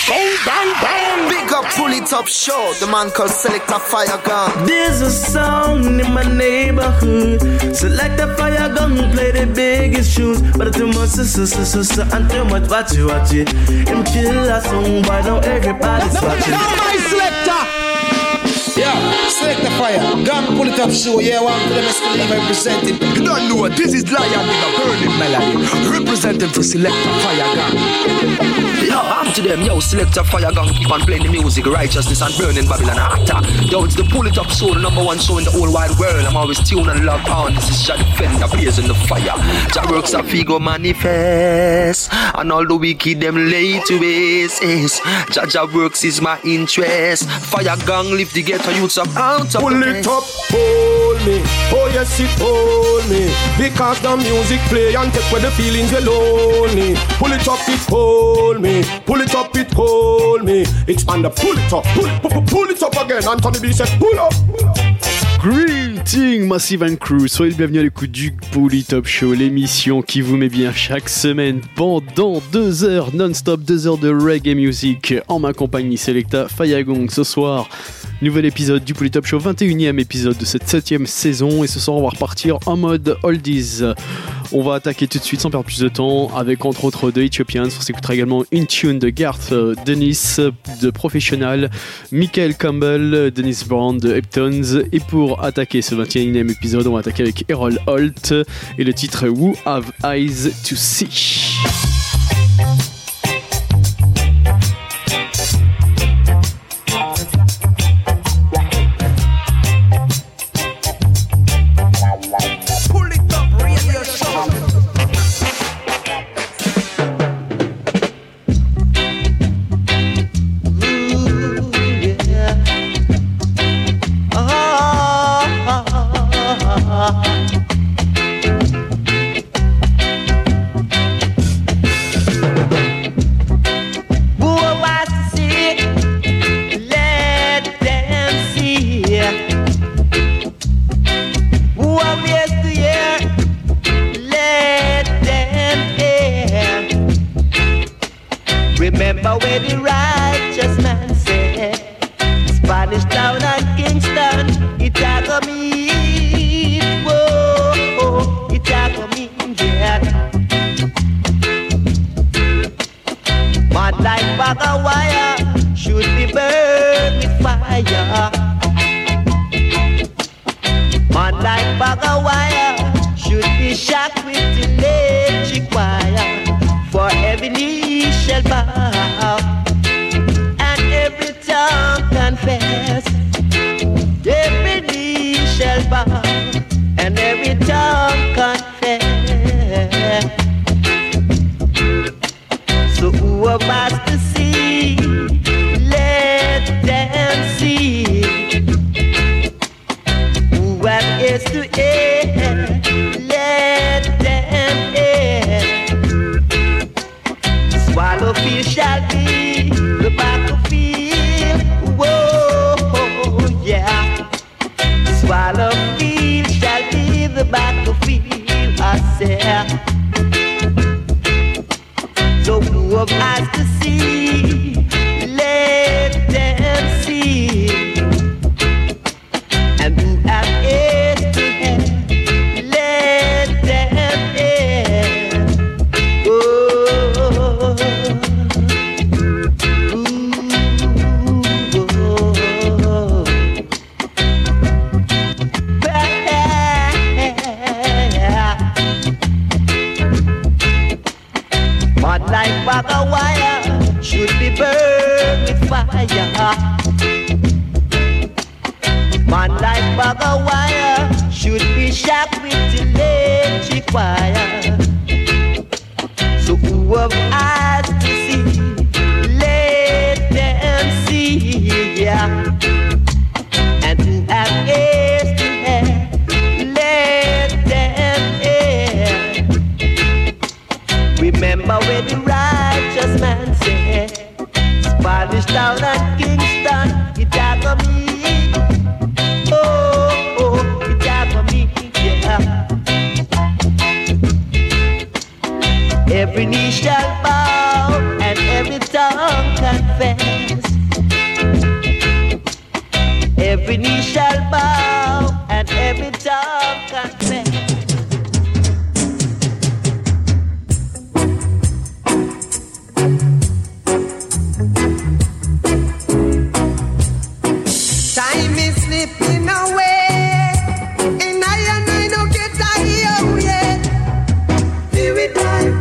Bang, bang, bang. Big up Pull It Up Show, the man called Selector Fire Gun. There's a sound in my neighborhood. Selector Fire Gun play the biggest tunes, but too much and too much watch it. Him kill a song, why now everybody's watching. Now my selector. Yeah, Selector Fire Gun, Pull It Up Show. Yeah, one for them is representing. You don't know what this is. Lion with a burning melody, representing for Selector Fire Gun. Yo, I'm to them, yo, Selector Fire Gun, keep on playing the music, righteousness and burning Babylon after. Yo, it's the Pull It Up Show, the number one show in the whole wide world. I'm always tuned and logged on. This is Jah Defender, blazing the fire. Jah works a figo manifest, and all the wicked them lay to waste. Jah works is my interest. Fire Gang lift the ghetto youths up out of Pull it up, hold me. Oh yes, it hold me. Because the music play and take away the feelings you lonely. Pull it up, it hold me. Pull it up, it hold me. It's on the pull it up, pull it up again. Anthony B said pull up. Greeting Massive and Crew, soyez le bienvenu à l'écoute du Pull It Up Show, l'émission qui vous met bien chaque semaine pendant 2 heures non-stop, 2 heures de reggae music en ma compagnie Selecta Fire Gun. Ce soir, nouvel épisode du Pull It Up Show, 21e épisode de cette 7e saison, et ce soir on va repartir en mode oldies. On va attaquer tout de suite sans perdre plus de temps avec entre autres The Ethiopians. On s'écoutera également une tune de Garth Dennis de Professional, Michael Campbell, Dennis Brown de Heptones, et pour attaquer ce 21e épisode, on va attaquer avec Errol Holt et le titre Who Have Eyes to See. Remember where the righteous man said, Spanish Town and Kingston, it a go meet, whoa, it a go meet, yeah. Man like bag of wire should be burned with fire. Man like bag of wire should be shocked with electric wire. For every knee shall bow, and every tongue confess. Every knee shall bow, and every tongue confess. So who of us to see? Let them see. Who have ears to hear? Let them hear. Swallow field shall be the battlefield. Whoa, yeah. Swallow field shall be the battlefield, I say. So who of eyes to see? Let them see. And who have ears to hear? Let them hear. Oh. Mud like bag of wire should be burned with fire. Man like bag of wire should be shocked with electric wire. So who have eyes to see? Let them see, yeah. And who have ears to hear? Let them hear. Remember where the righteous man said, Spanish Town and Kingston, it a go meet. Oh, it a go meet, yeah. confess. Every knee shall bow and every tongue confess. Time is slipping away, and I don't get tired yet. Feel it time,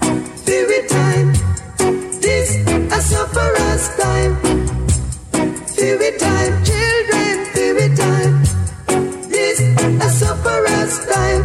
this a sufferer's time. Feel it time, children, feel it time, this a sufferer's time.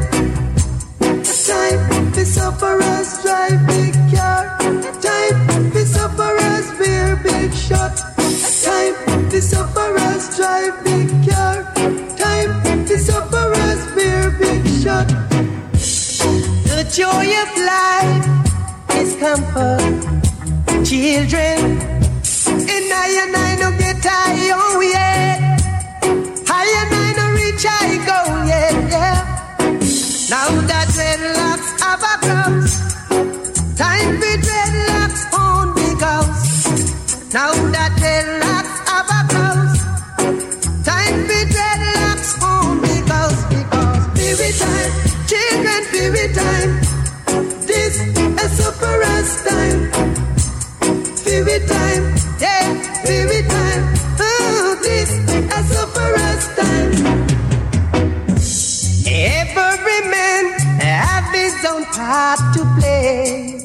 Time for sufferers drive big car, time for sufferers wear big shot. Time for sufferers drive big car, time for sufferers wear big shot. The joy of life is comfort, children, and I don't get tired yet. I don't reach I go yet, yeah. Now that dreadlocks have a cross, time for dreadlocks on big house. Now that dreadlocks have a cross, time for dreadlocks on big house. Because spirit time, children, spirit time, this is sufferer's time. Spirit time, yeah, spirit time, oh, this is sufferer's time. Every man have his own part to play.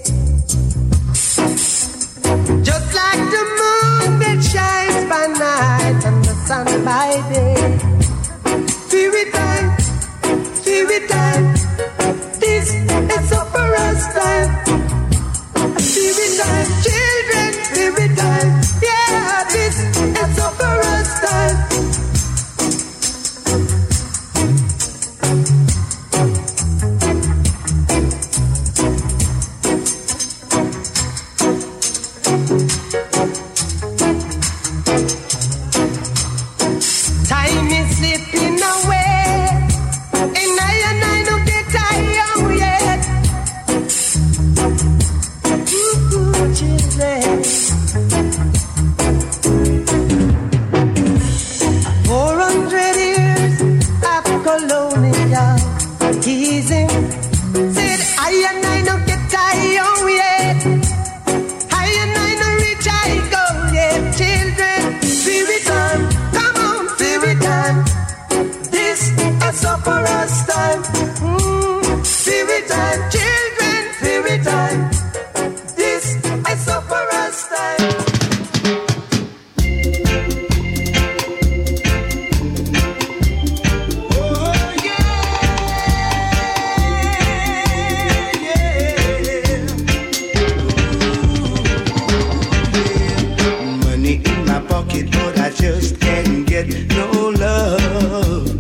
Just like the moon that shines by night and the sun by day. Spirit time, this is sufferer's time. Spirit time, children, spirit time, yeah, this is sufferer's time. Time is slipping away, and I don't get tired yet. Ooh, children. 400 years of colonial teasing. Said I don't get tired yet. I don't reach I go yet. Children, spirit time, come on, spirit time. This is sufferer's time. Spirit time, children, spirit time. This is sufferer's time. But I just can't get no love.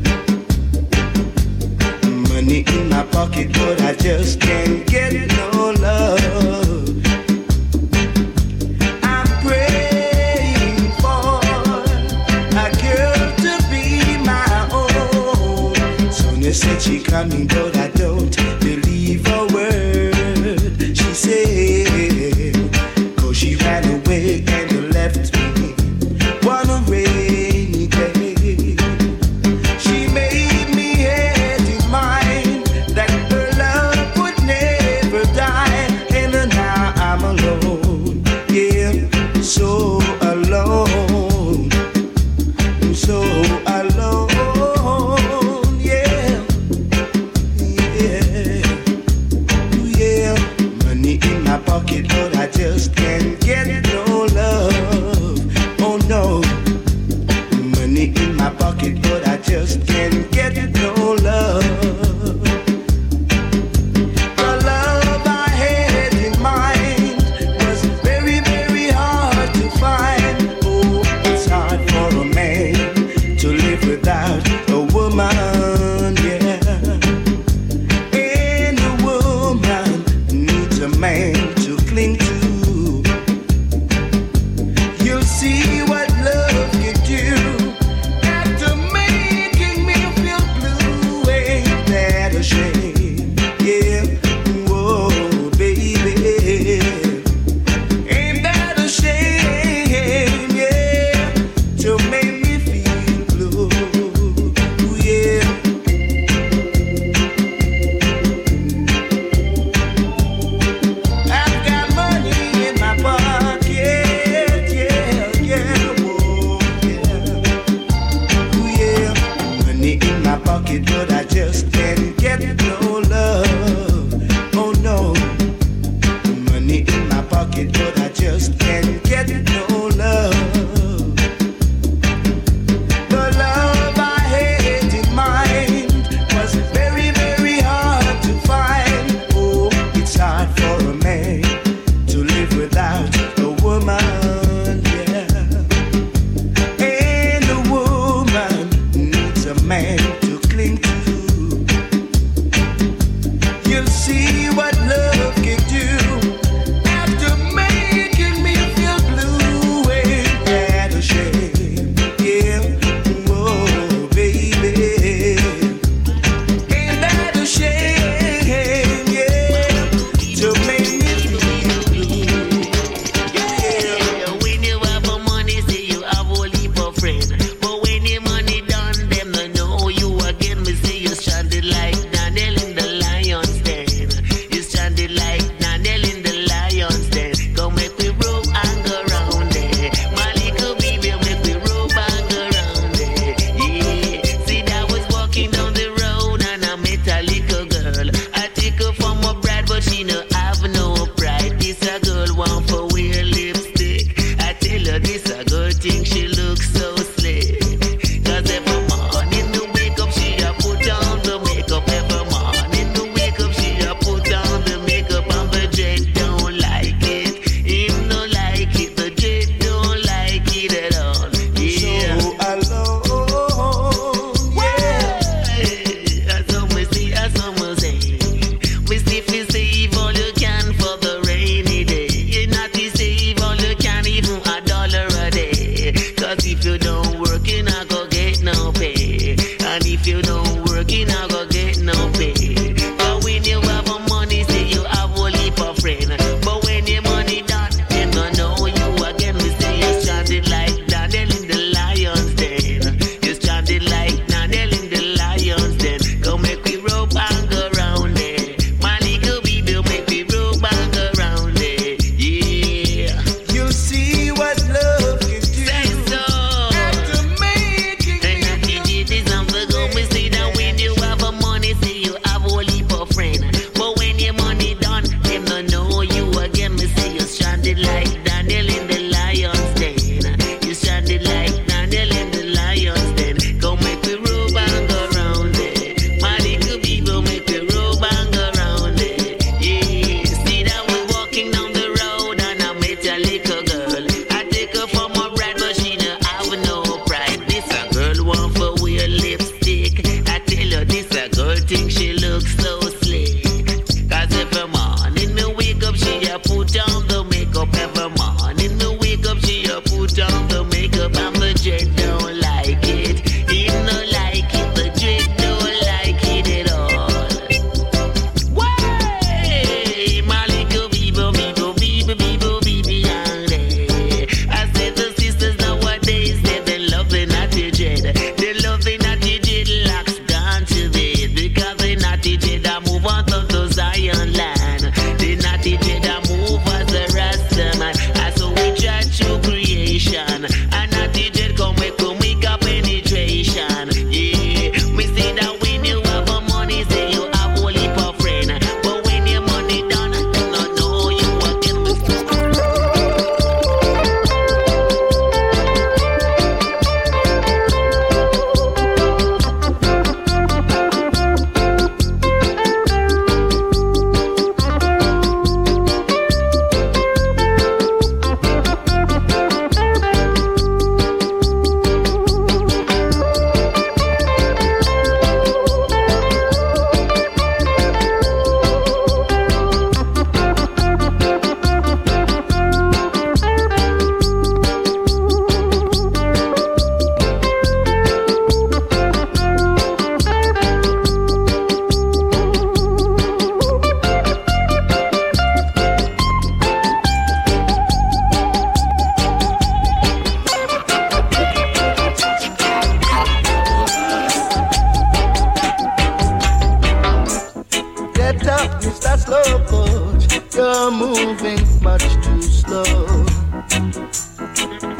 Money in my pocket, but I just can't get no love. I'm praying for a girl to be my own. Sonia said she coming, but I don't believe a word she said. 'Cause she ran away and left me one rainy day. She made me have in mind that her love would never die, and now I'm alone, yeah, so alone, so alone, yeah, yeah, yeah. Money in my pocket, but I just can't get no love.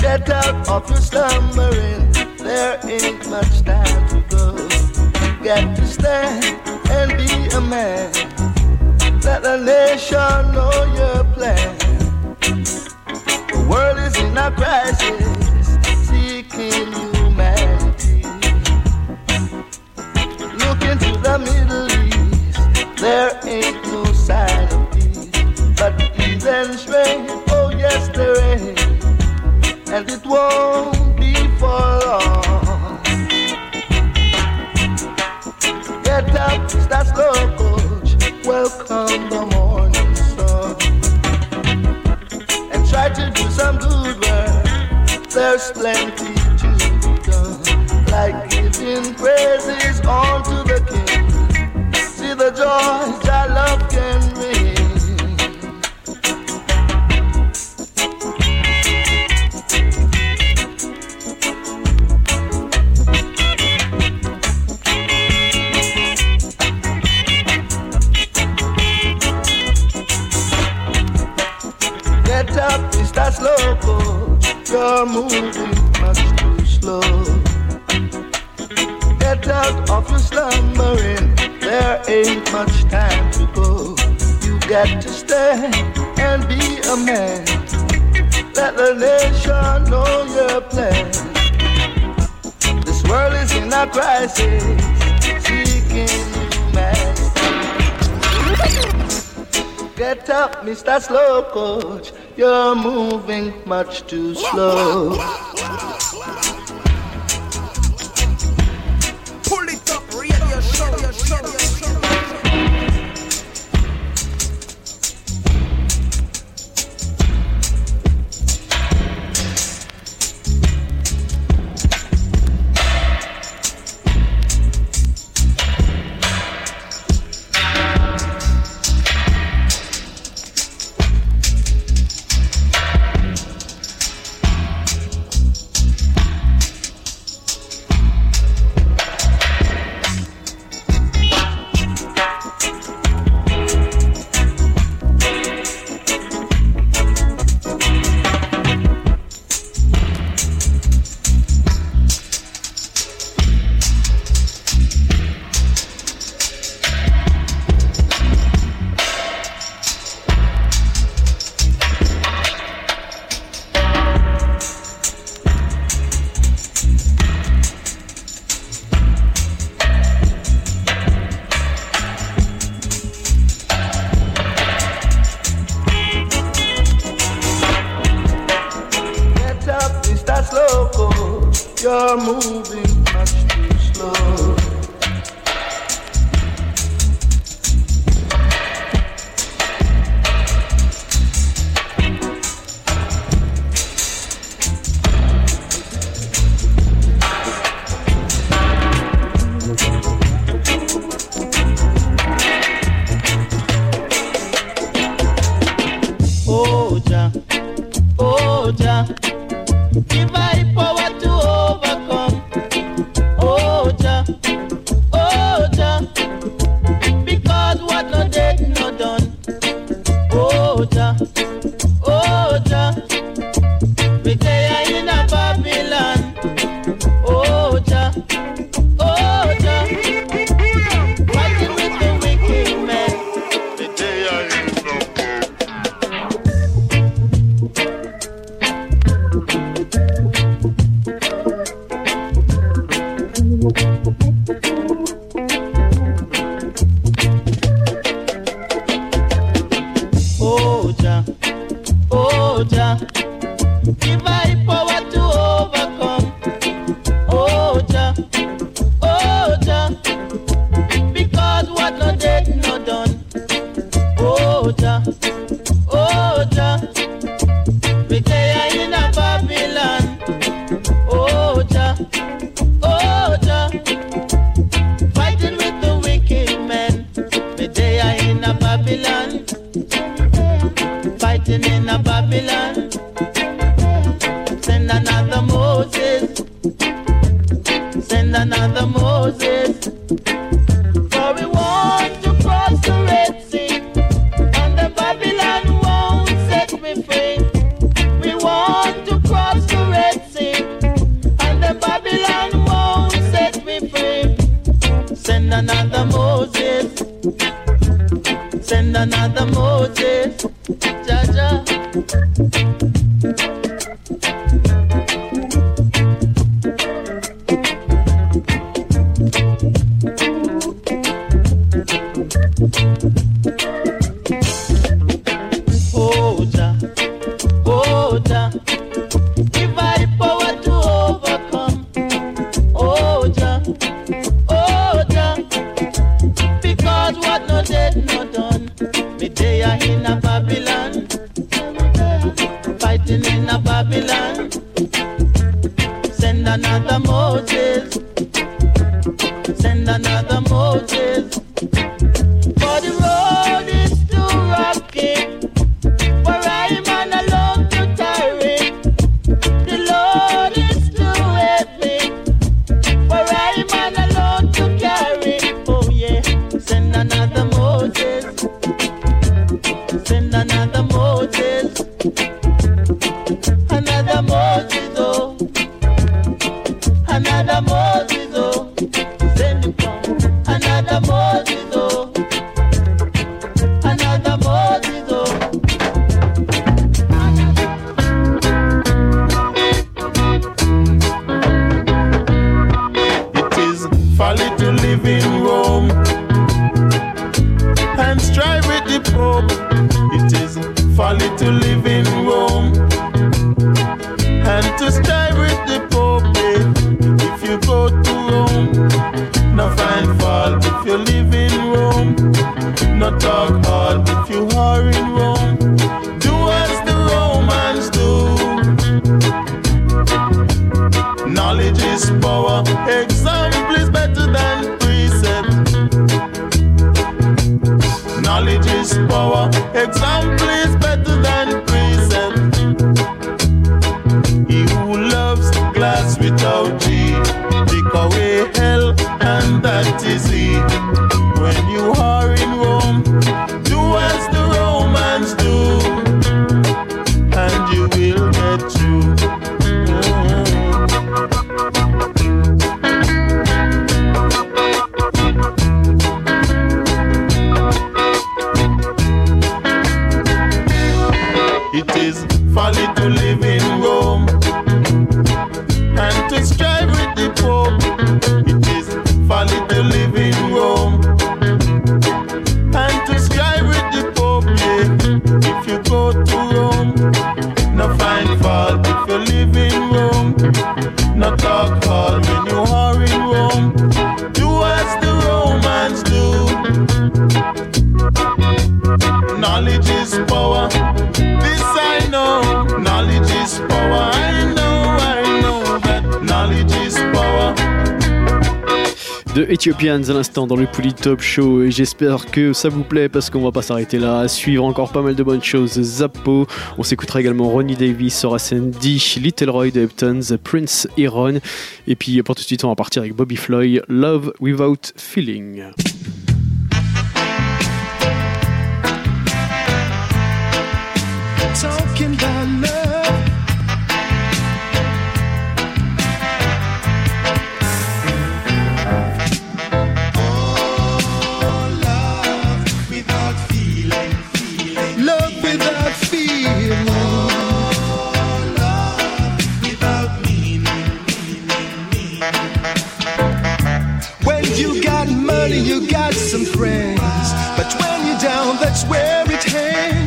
Get out of your slumbering, there ain't much time to go. Got to stand and be a man. Let the nation know your plan. The world is in a crisis, seeking humanity. Look into the Middle East, there ain't no sign of peace. But heathens reign, oh yes there ain't. And it won't be for long. Get up, start slow coach. Welcome the morning sun. And try to do some good work. There's plenty to be done. Like giving praises unto the King. See the joy that love can bring. Slow coach, you're moving much too slow. Get out of your slumbering, there ain't much time to go. You got to stand and be a man. Let the nation know your plan. This world is in a crisis, seeking humanity. Get up, Mr. Slow Coach. You're moving much too slow. Pull it up, radio show. You're moving much too slow. Oh Jah, oh Jah, give I power to overcome. Oh Jah, because what no dead no done. Oh Jah, we stay in a Babylon. Oh Jah, fighting with the wicked men. We stay in Oh Jah, give I power to overcome. Oh Jah, because what no dead no done. Oh Jah, we stay in a Babylon. Oh Jah, fighting with the wicked men. We stay in a Babylon. Fighting in a Babylon. another Moses, Jaja. Oh, Jah, oh, Jah, give I the power to overcome. Oh, Jah, because what no dead, no done. Me day in a Babylon, fighting in a Babylon. Send another Moses, send another Moses. For the road is too rocky, for I man alone to tarry. The load is too heavy, for I man alone to carry. Oh yeah, send another Moses, send another Moses, another Moses, oh, another Moses, oh, send him come, another Moses, oh, another Moses, oh. It is folly to live in Rome and strive with the Pope. It is folly to live in Rome and to strive with the Pope. If you go to Rome, no find fault. If you live in Rome, no talk hard. If you are in Rome, do as the Romans do. Knowledge is power. Example is better than precept. Knowledge is power. Example is better than precept. He who loves glass without G, take away hell, and that is he. When you are in Rome, do as the Romans do, and you will get through. It is folly to live in Rome and to strive with the Pope. It is folly to live in Rome and to strive with the Pope. Yeah. If you go to Rome, no find fault. If you live in Rome, no talk hard. When you are in Rome, do as the Romans do. Knowledge is power. This I know. Knowledge is power. I know that knowledge is power. De Ethiopians à l'instant dans le Pouli Top Show, et j'espère que ça vous plaît parce qu'on va pas s'arrêter là. À suivre encore pas mal de bonnes choses. Zappo, on s'écoutera également Ronnie Davis, Horace D, Little Roy de Heptons, Prince Iron, et puis pour tout de suite on va partir avec Bobby Floyd, Love Without Feeling. Talking about love. Oh, love without feeling. Love without feeling. Oh, love without meaning. When you got money, you got some friends, but when you're down, that's where it hangs.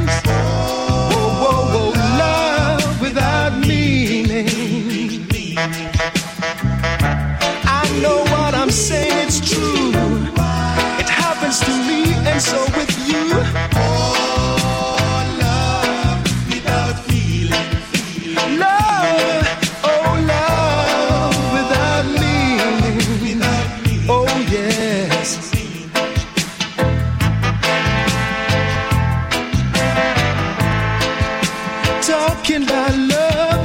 Love without meaning. I know what I'm saying, it's true. It happens to me, and so with you. Oh, love without feeling. Love, oh, love without meaning. Oh, yes. Talking about love.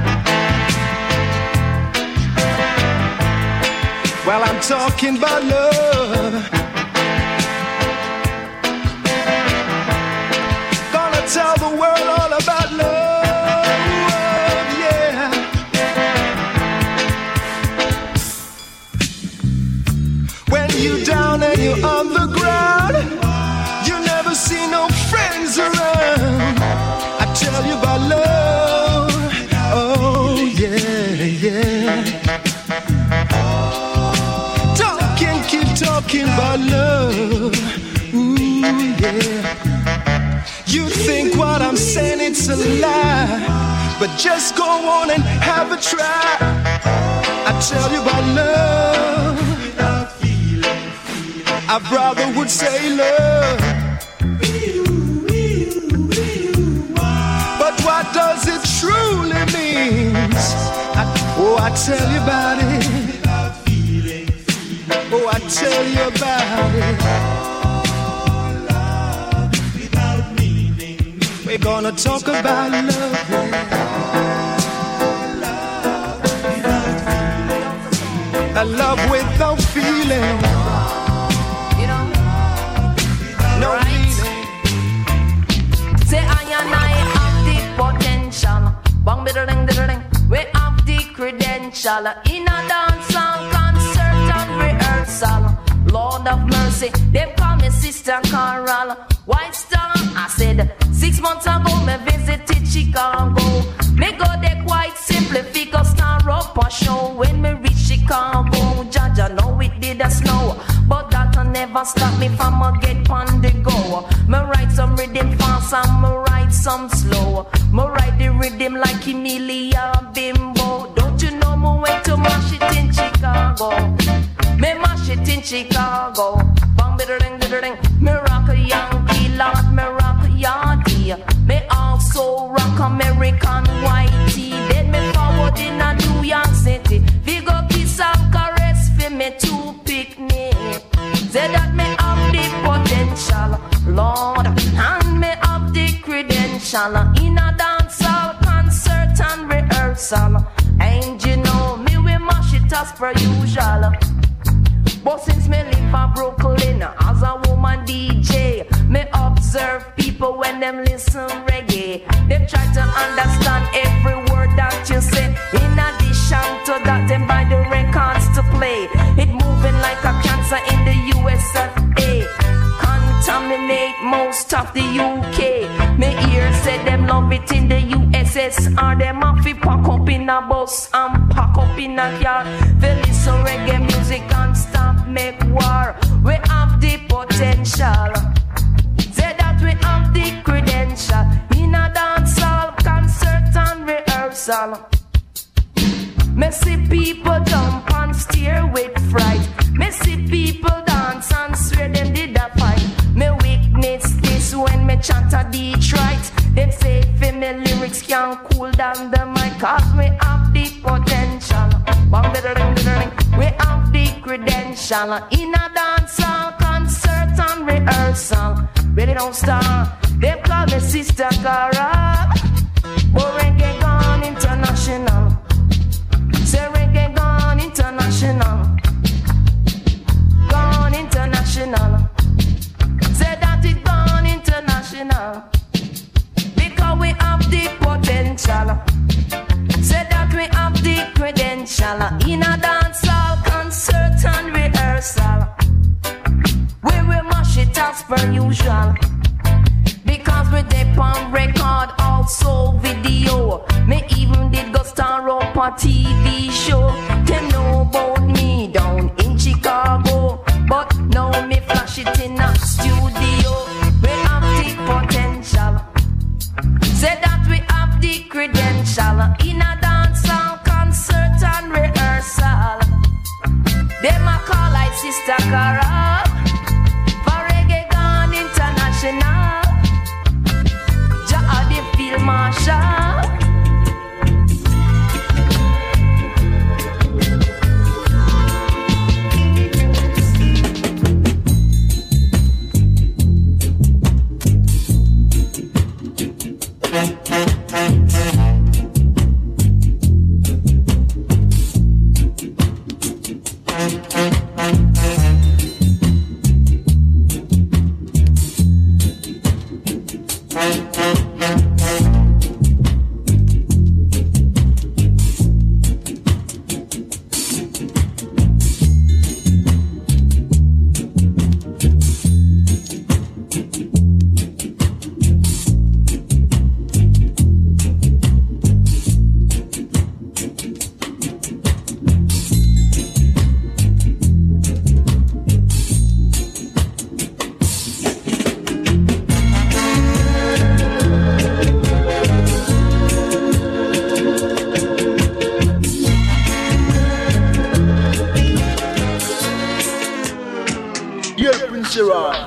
Well, I'm talking about love. Gonna tell the world all about love. Yeah. When you're down and you're on the ground, you never see no talking about love. Ooh, yeah. You think what I'm saying it's a lie, but just go on and have a try. I tell you about love. I rather would say love. But what does it truly mean? I tell you about it. Oh, I tell you about it. We're gonna talk about love. A love without feeling. No meaning. Say I and I have the potential. Bang diddling diddling. We have the credential. In a dance and concert and rehearsal. Lord of mercy, they call me Sister Carol. White Star, I said 6 months ago me visited Chicago. Me go there quite simply because star up a show. When me reach Chicago, Jaja know it did a snow, but that never stop me from a get on the go. Me write some rhythm fast and me write some slow. Me write the rhythm like Emilia Bimbo. Don't you know me went to mash it in Chicago? Me mash it in Chicago. Bang diddling diddling. Me rock a Yankee lot, me rock a Yardie. Me also rock American Whitey. Then me forward in a New York City. We go kiss and caress for me to picnic. Say that me have the potential, Lord, and me have the credential. In a dancehall concert and rehearsal. And you know me we mash it as per usual. But since me live in Brooklyn as a woman DJ, me observe people when them listen reggae. They try to understand every word that you say. In addition to that, them buy the records to play. It moving like a cancer in the USA. Contaminate most of the UK. Me hear say them love it in the USSR. Them have to pack up in a bus and pack up in a car. They listen reggae music and stop make war. We have the potential. Say that we have the credential. In a dancehall concert and rehearsal. Me see people jump and stare with fright. Me see people dance and swear them did a fight. Me witness this when me chant a Detroit. Them say for me lyrics can cool down the mic. Cause we have the potential. We have the credential. In a dancehall concert and rehearsal. Really don't start. They call me Sister Cara. But reggae gone international. Say reggae gone international. Gone international. Say that it gone international. Because we have the potential. Say that we have the credential. In a dancehall concert and rehearsal. We will mash it as per usual. Because we dip on record, also video. Me even did go star up a TV show. Them know about me down in Chicago, but now me flash it in a studio. We have the potential. Say that we have the credential. In a dancehall concert and rehearsal. Them a call like Sister Cara. For reggae gone international. Jah the field marshal.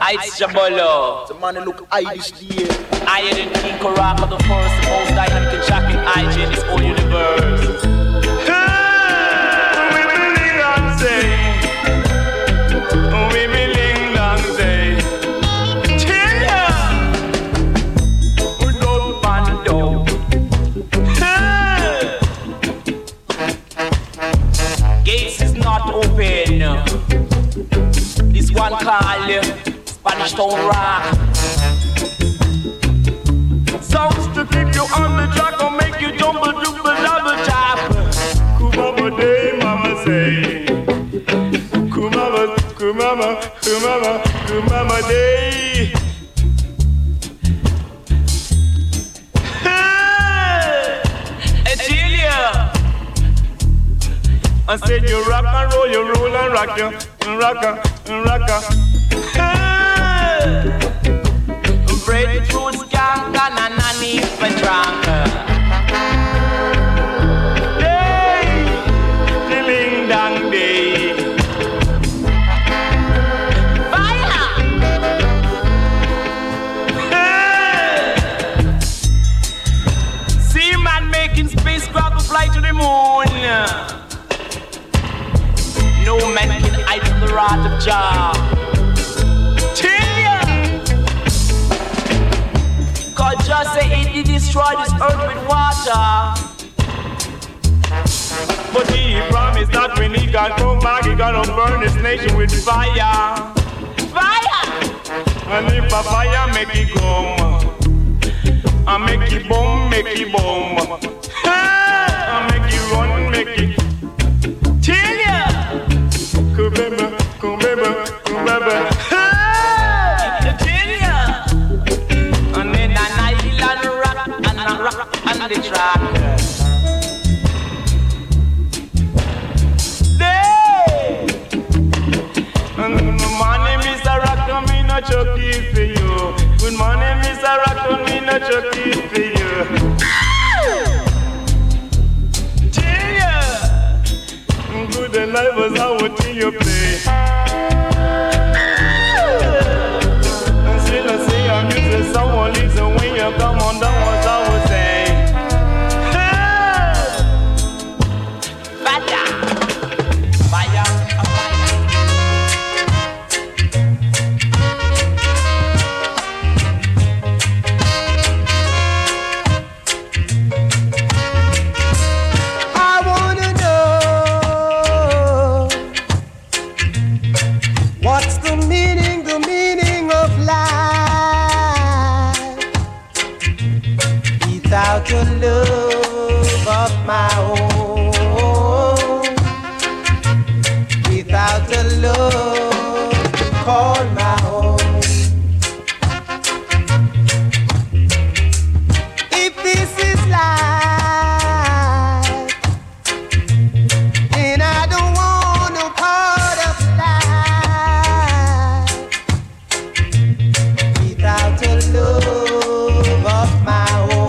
It's Jabolo. The man look Irish here. Higher than King Karaka the first, the most dynamic and shocking IG in this whole universe. Gates is not open. This one call Spanish Town Rock. Songs to keep you on the track or make you jump a double double tap. Kumama day, mama say. Kumama, kumama, kumama, kumama day. Hey, Etilia. I said you rock and roll, you roll and rock, you rocker, rocker. Hey. Breadfruit skunk and a nanny for drunk. Day, ding dang day. Fire! Hey. See man making spacecraft fly to the moon. No man can hide from the wrath of Jah. God just say he did destroy this earth with water. But he promised that when he got come back, he gonna burn this nation with fire. Fire! And if a fire make it come, I make it bomb, make it bomb. I make it run, make it. Tell ya! Kubeba, kubeba, kubeba. Rock on the track. Day. And good morning, Mr. Rock, me no chucky for you. Good morning, Mr. Rock, me no chucky for you. Tell ya. Good and life was how what you play. And still I say I'm using someone listen when you come on down what I was saying. Without your love of my own, without the love to call my own. If this is life, then I don't want no part of life. Without your love of my own.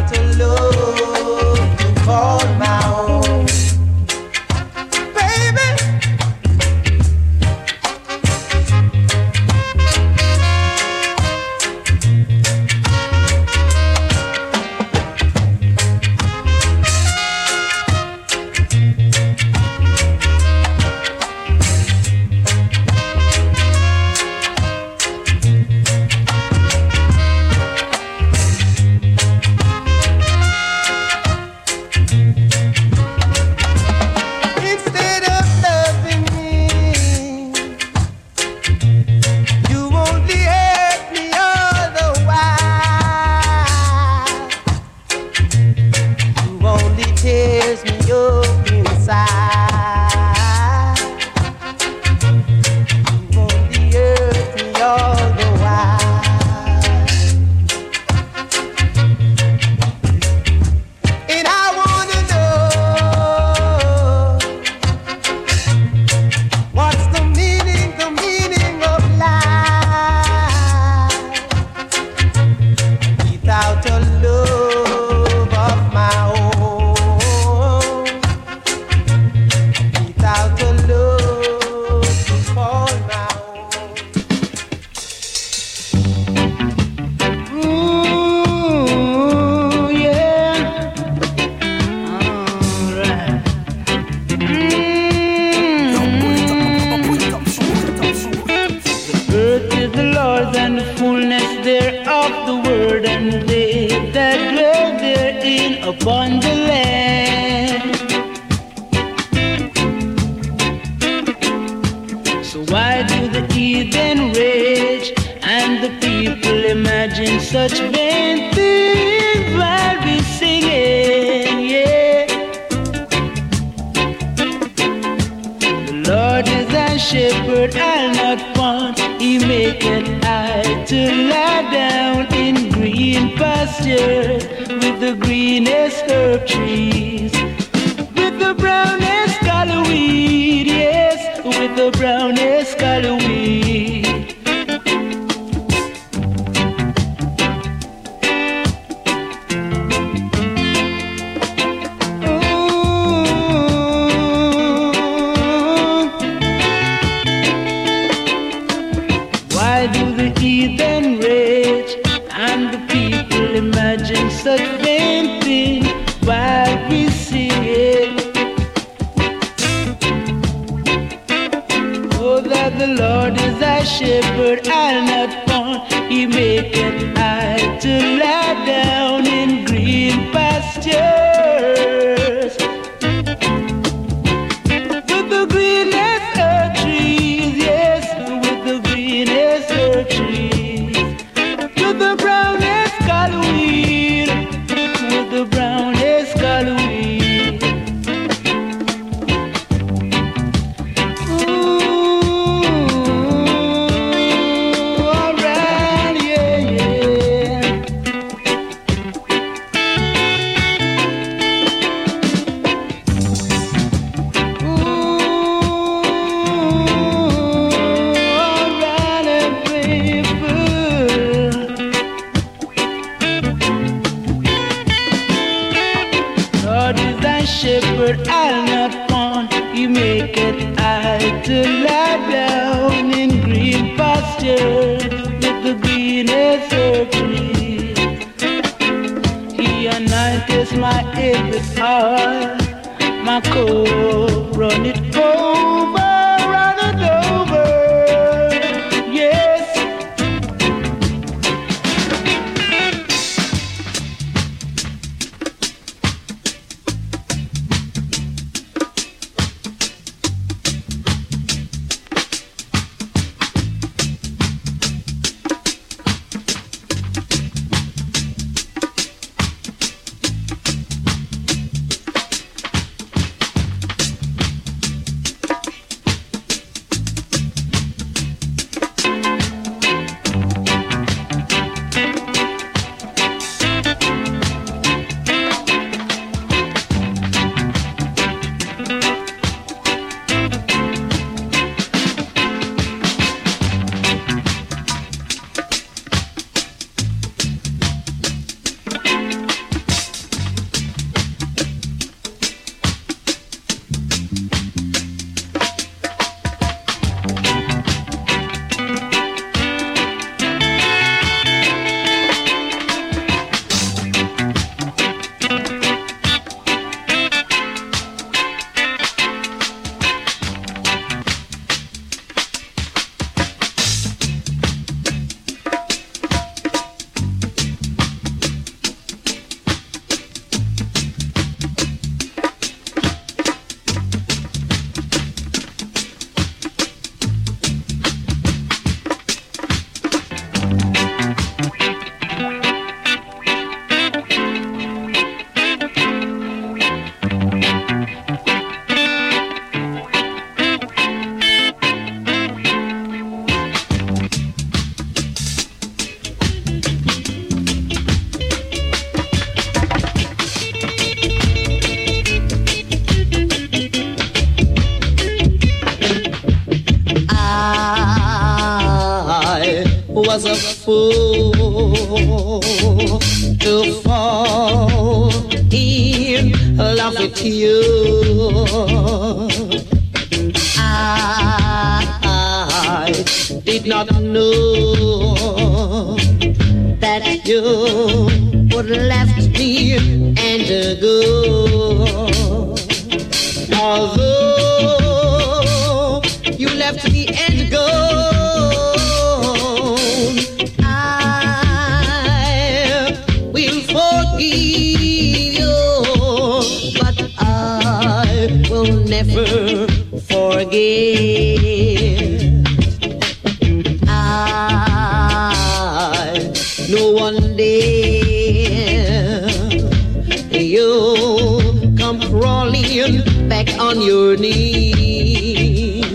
Love to call my own, baby. upon the land. So why do the heathen rage and the people imagine such vain things while we singing? Yeah. The Lord is our shepherd, I'll not want. He maketh I to lie down in green pastures with the greenest herb trees, with the brownest color weed, yes, with the brownest color weed. Why do the heathen rage and the people imagine such vain things while we sing it? Oh, that the Lord is our shepherd, I'll not want. He maketh I to lie down in green pastures with the greenest earth trees, yes, with the greenest earth trees, with the brownest color weed, with the brownest color weed. Ooh, alright, yeah, yeah. Lord is thy shepherd, I'll not want. He maketh I to lie down in green pasture with the greenest herb trees. He anointeth my head with oil, my coat run it over, yes. was a fool to fall in love with you. I did not know that you would left me and go. Although you left me and go, I will forgive you. crawling back on your knees,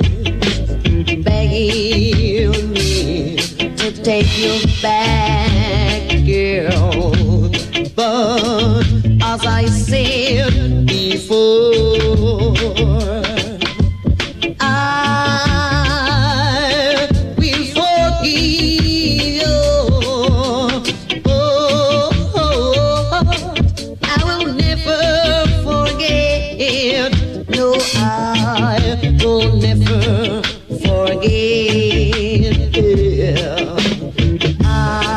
begging me to take you back, girl. But as I said before, I will forgive you. I will never forget. No, I will never forget. I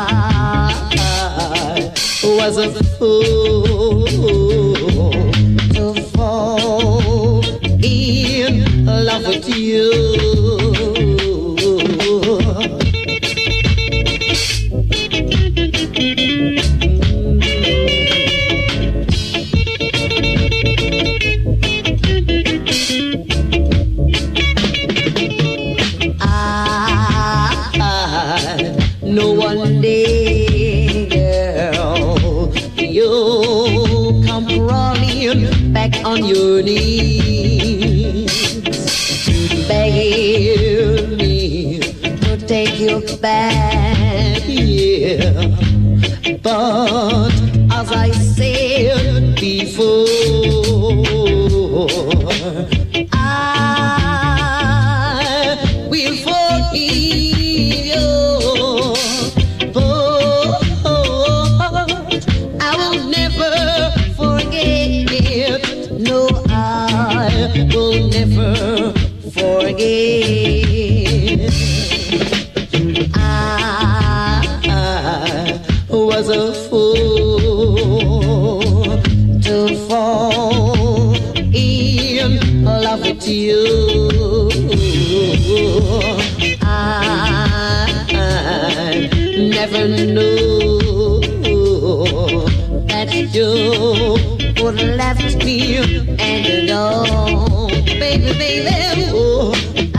was a fool to fall in love with you. No one day, girl, you come crawling back on your knees, begging me to take you back, yeah. But as I said before, I will forgive you. Will never forget. I was a fool to fall in love with you. I never knew that you would have left me and alone, baby, baby. Oh, I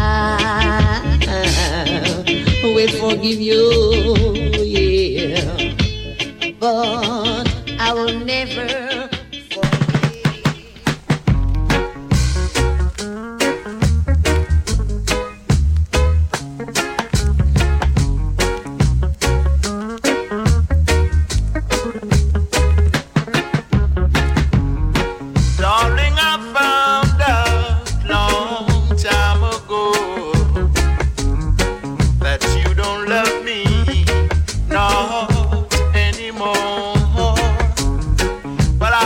will forgive you, yeah, but I will never. But I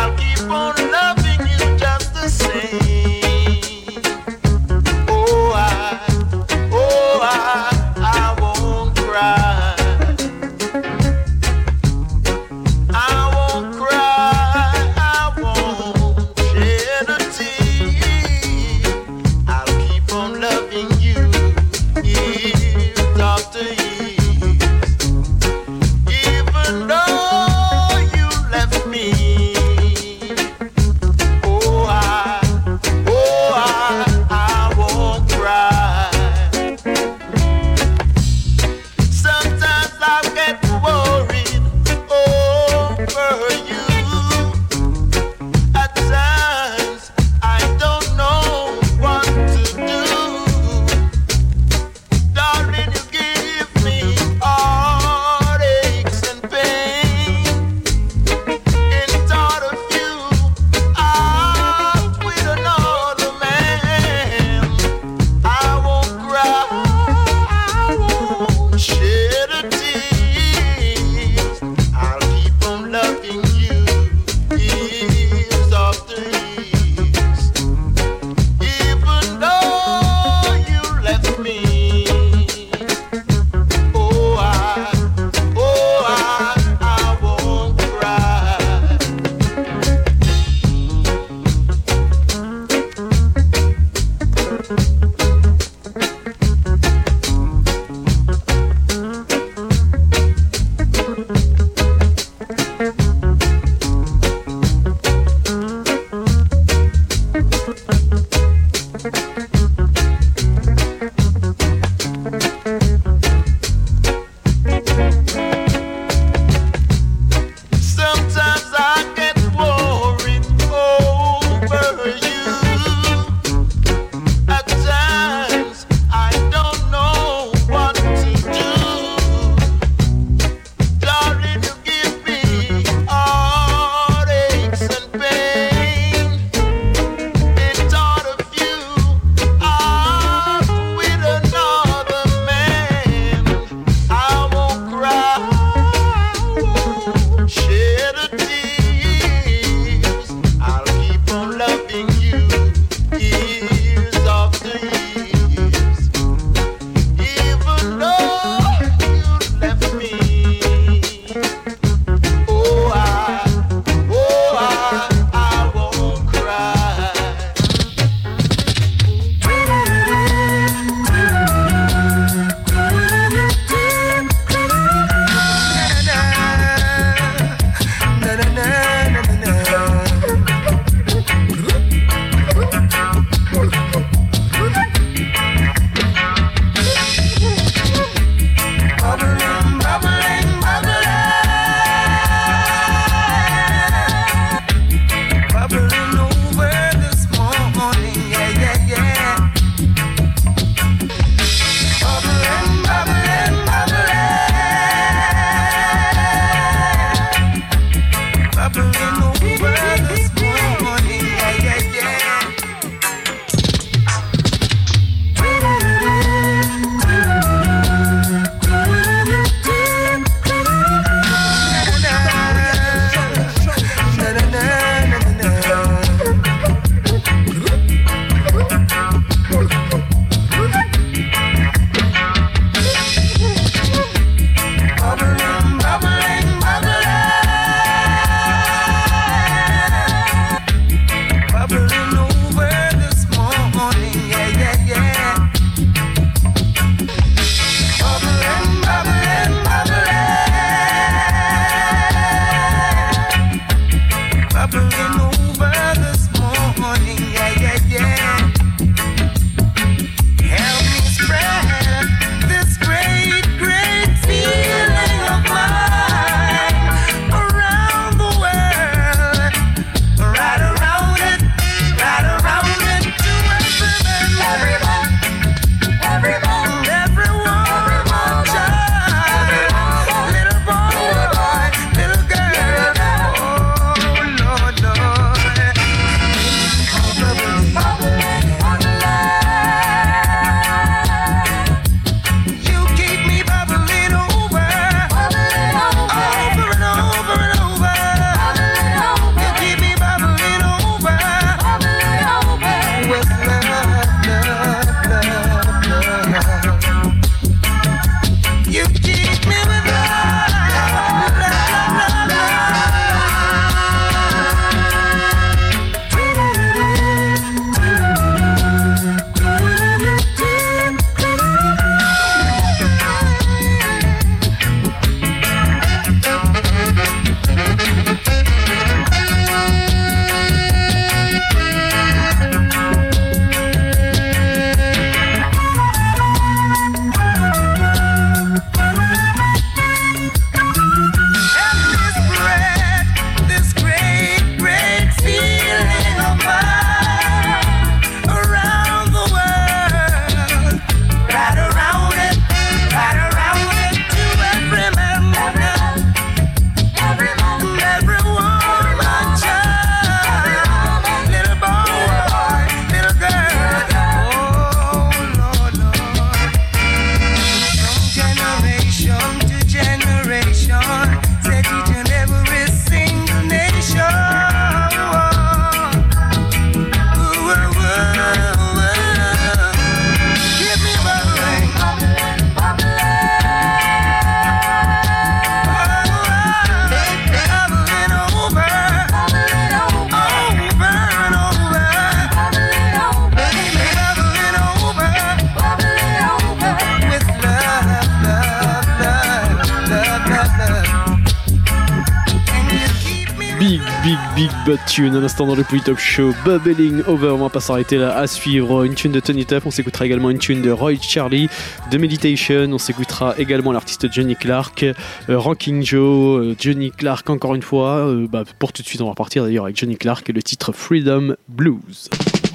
Big Butt Tune, un instant dans le Polytop Show, Bubbling Over, on va pas s'arrêter là, à suivre une tune de Tony Tuff, on s'écoutera également une tune de Roy Charlie, de Meditation, on s'écoutera également l'artiste Johnny Clark, Ranking Joe, Johnny Clark encore une fois, pour tout de suite on va repartir d'ailleurs avec Johnny Clark et le titre Freedom Blues.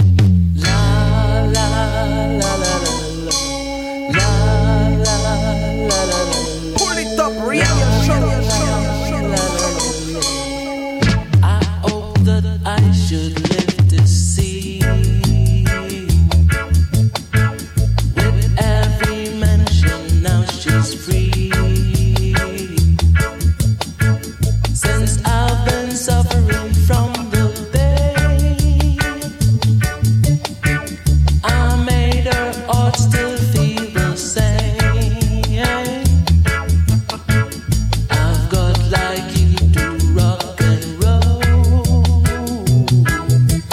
Should live to see with every mention now she's free. Since I've been suffering from the pain, I made her heart still feel the same. I've got like you to rock and roll.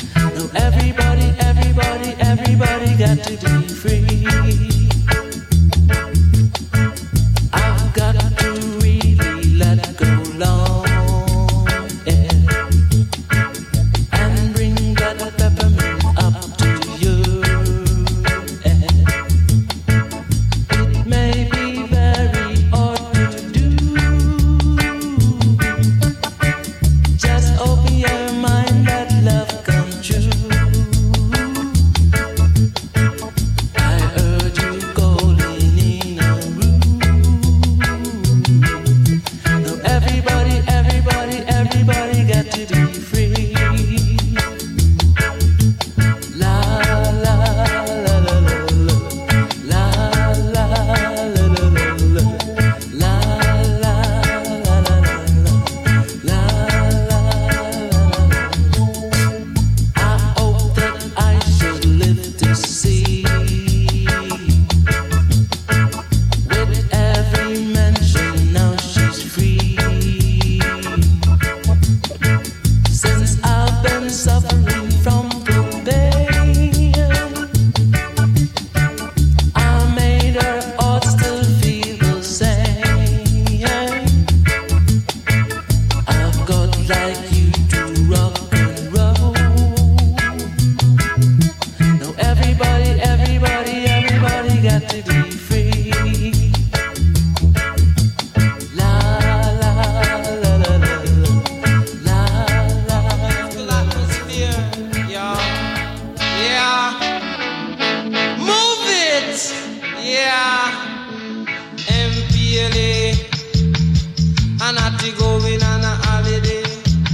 rock and roll. Now everybody got to be free. La la la la la la la. Atmosphere, yeah. Move it, yeah. MPLA, and I going on a holiday.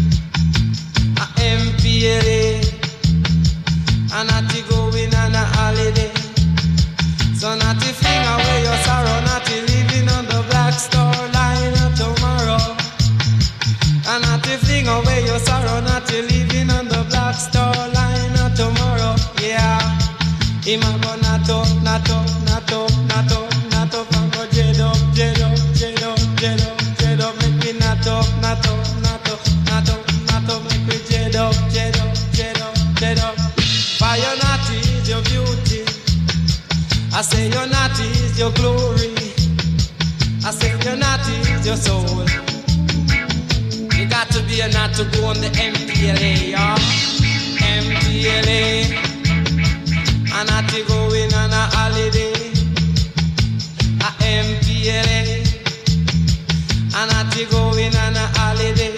MPLA, and I going on a holiday. So not to fling away your sorrow, not to living on the Black Star Line tomorrow. And not to fling away your sorrow, not to living on the Black Star Line tomorrow. Yeah, him a go not up, not up, not up, not up, not up, and go jet up, jet up, jet up, jet up, jet up, make me not up, not up, not up, not up, not up, make me jet up, jet up, jet up, jet up. Fire not is your beauty. I say your naughty is your glory. I say your naughty is your soul. You got to be a nut to go on the MPLA, yeah. MPLA. A naughty going on a holiday. A MPLA. A naughty going on a holiday.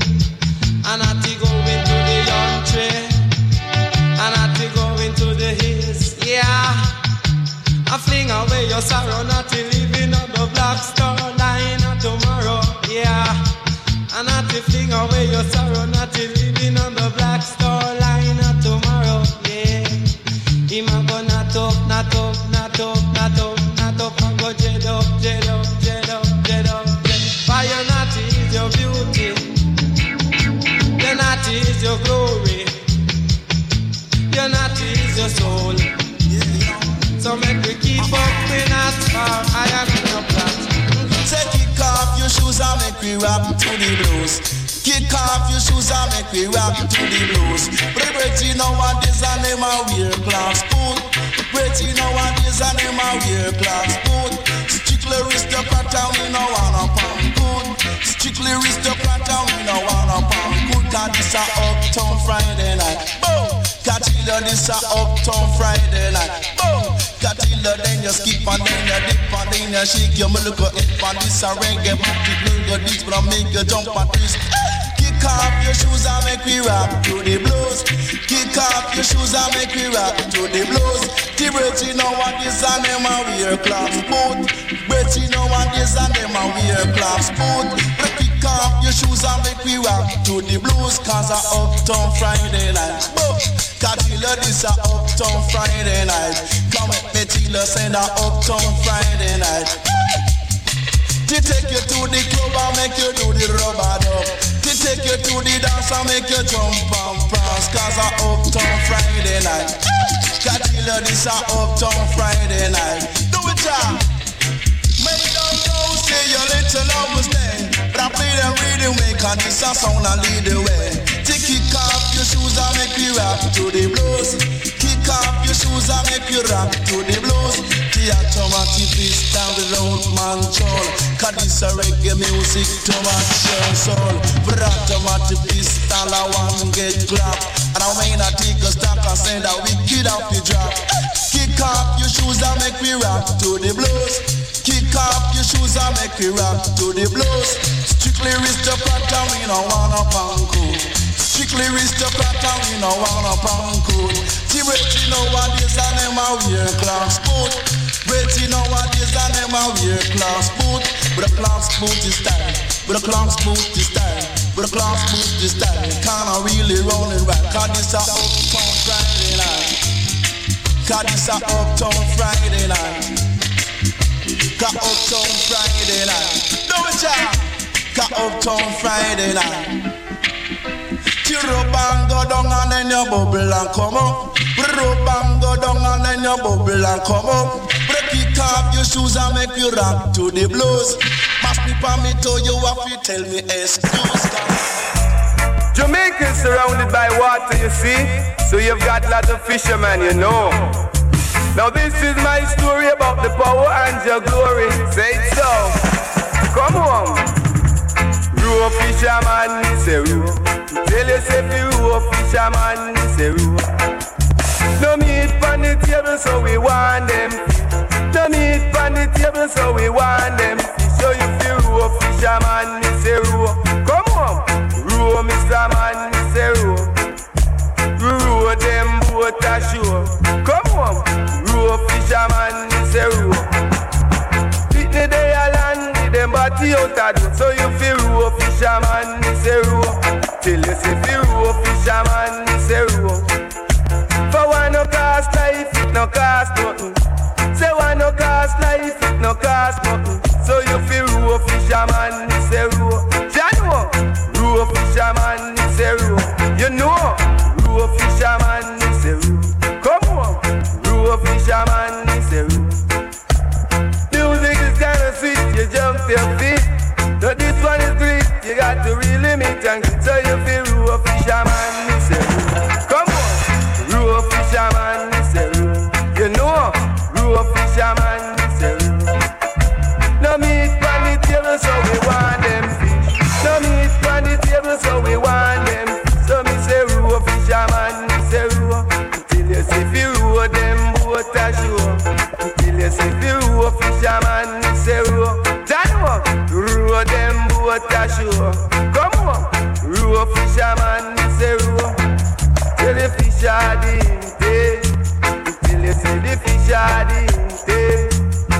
A naughty going to the country. A naughty going to the hills, yeah. I fling away your sorrow, not to living on the Black Star Line tomorrow, yeah. And not to fling away your sorrow, not to living on the Black Star Line tomorrow, yeah. Him a go not up, not up, not up, not up, not up, and go jet up, jet up, jet up, jet up, jet. Fire not is your beauty, your not is your glory, your not is your soul. So make we keep up in as far I am in your plot. Say kick off your shoes and make we rap to the blues. Kick off your shoes and make we rap to the blues. Pretty nowadays and them a wear class boot. Pretty nowadays and them a wear class boot. Strictly aristocrat and we no wanna pound good. Strictly aristocrat and we no wanna pound good. Cause this a Uptown Friday night. Boom! Catilla, this a Uptown Friday night. Boom! Catilla, then you skip and then you dip and then you shake your milk hip and this a reggae booty blue go this but I make you jump and twist. Kick off your shoes and make we rock to the blues. Kick off your shoes and make we rock to the blues. The Bretty nowadays and them a wear class boot. Bretty nowadays and them a wear class boot. Kick off your shoes and make we rock to the blues. Cause a Uptown Friday night. Catilla, this a Uptown Friday night. Come with me Tila, send a Uptown Friday night. To take you to the club and make you do the rubber dub. To take you to the dance and make you jump and prance. Cause a Uptown Friday night. Catilla, this a Uptown Friday night. Do it, y'all. Make them know, say your little love was there. But I play them really make and this a sound and lead the way. Kick off your shoes and make you rock to the blues. Kick off your shoes and make you rock to the blues. The automatic beats down the road control. Cause this a reggae music to match your soul. For automatic beats all I want get clap. And I may not take a stock and send a wicked off the drop. Kick off your shoes and make me rock to the blues. Kick off your shoes and make me rock to the blues. Strictly aristocrat and we no wanna pound cool. Strictly aristocrat and we no wanna pound cool. See Bretty nowadays and them a wear class boot. Bretty nowadays and them a wear class boot. But a class boot is style. But a class boot is style. But a class boot is style. Kinda really rolling right. Cause this a Uptown Friday night. Cause this a Uptown Friday night. Cause Uptown Friday night. Do it, y'all. Cause Uptown Friday night. Tear up and go down and then you bubble and come up. Rub and go down and then you bubble and come up. Kick off your shoes and make you rock to the blues. Mash me for me to you have to tell me excuse. Jamaica is surrounded by water, you see. So you've got lots of fishermen, you know. Now this is my story about the power and your glory. Say it so. Come on. Row fisherman, say row. Tell you say fi fisherman, me say row. No meat on the table, so we want them fish. No meat on the table, so we want them fish. So you feel row, fisherman, me say row. Come on, row, Mr. Man, me say row. Row them boat ashore. Come on, row, fisherman, me say row. Pitney they a land with them body out a door. So you feel row, fisherman, me say row. Till you see feel row, fisherman, me say row. For one no cost life, it no cost nothing. Say one no cost life, it no cost nothing. So you feel row, fisherman, me say row. You know, row, fisherman, me say row. You know, row, fisherman, me say row. Come on, row, fisherman, me say row. Music is kinda sweet, you jump your feet. But this one is great, you got to really make and get. So you feel row, fisherman, me say row. Come on, row, fisherman, me say row. You know, row, fisherman, me say row. No meat on the table, so we want them fish. No meat on the table, so we want them fish. So me say row, fisherman, me say row. Till you see fi row them boat ashore. Till you see fi row, fisherman, me say row. Janwa, row them boat ashore. Come on, row, fisherman, me say row. Till the fish are deep, till you see the fish are deep.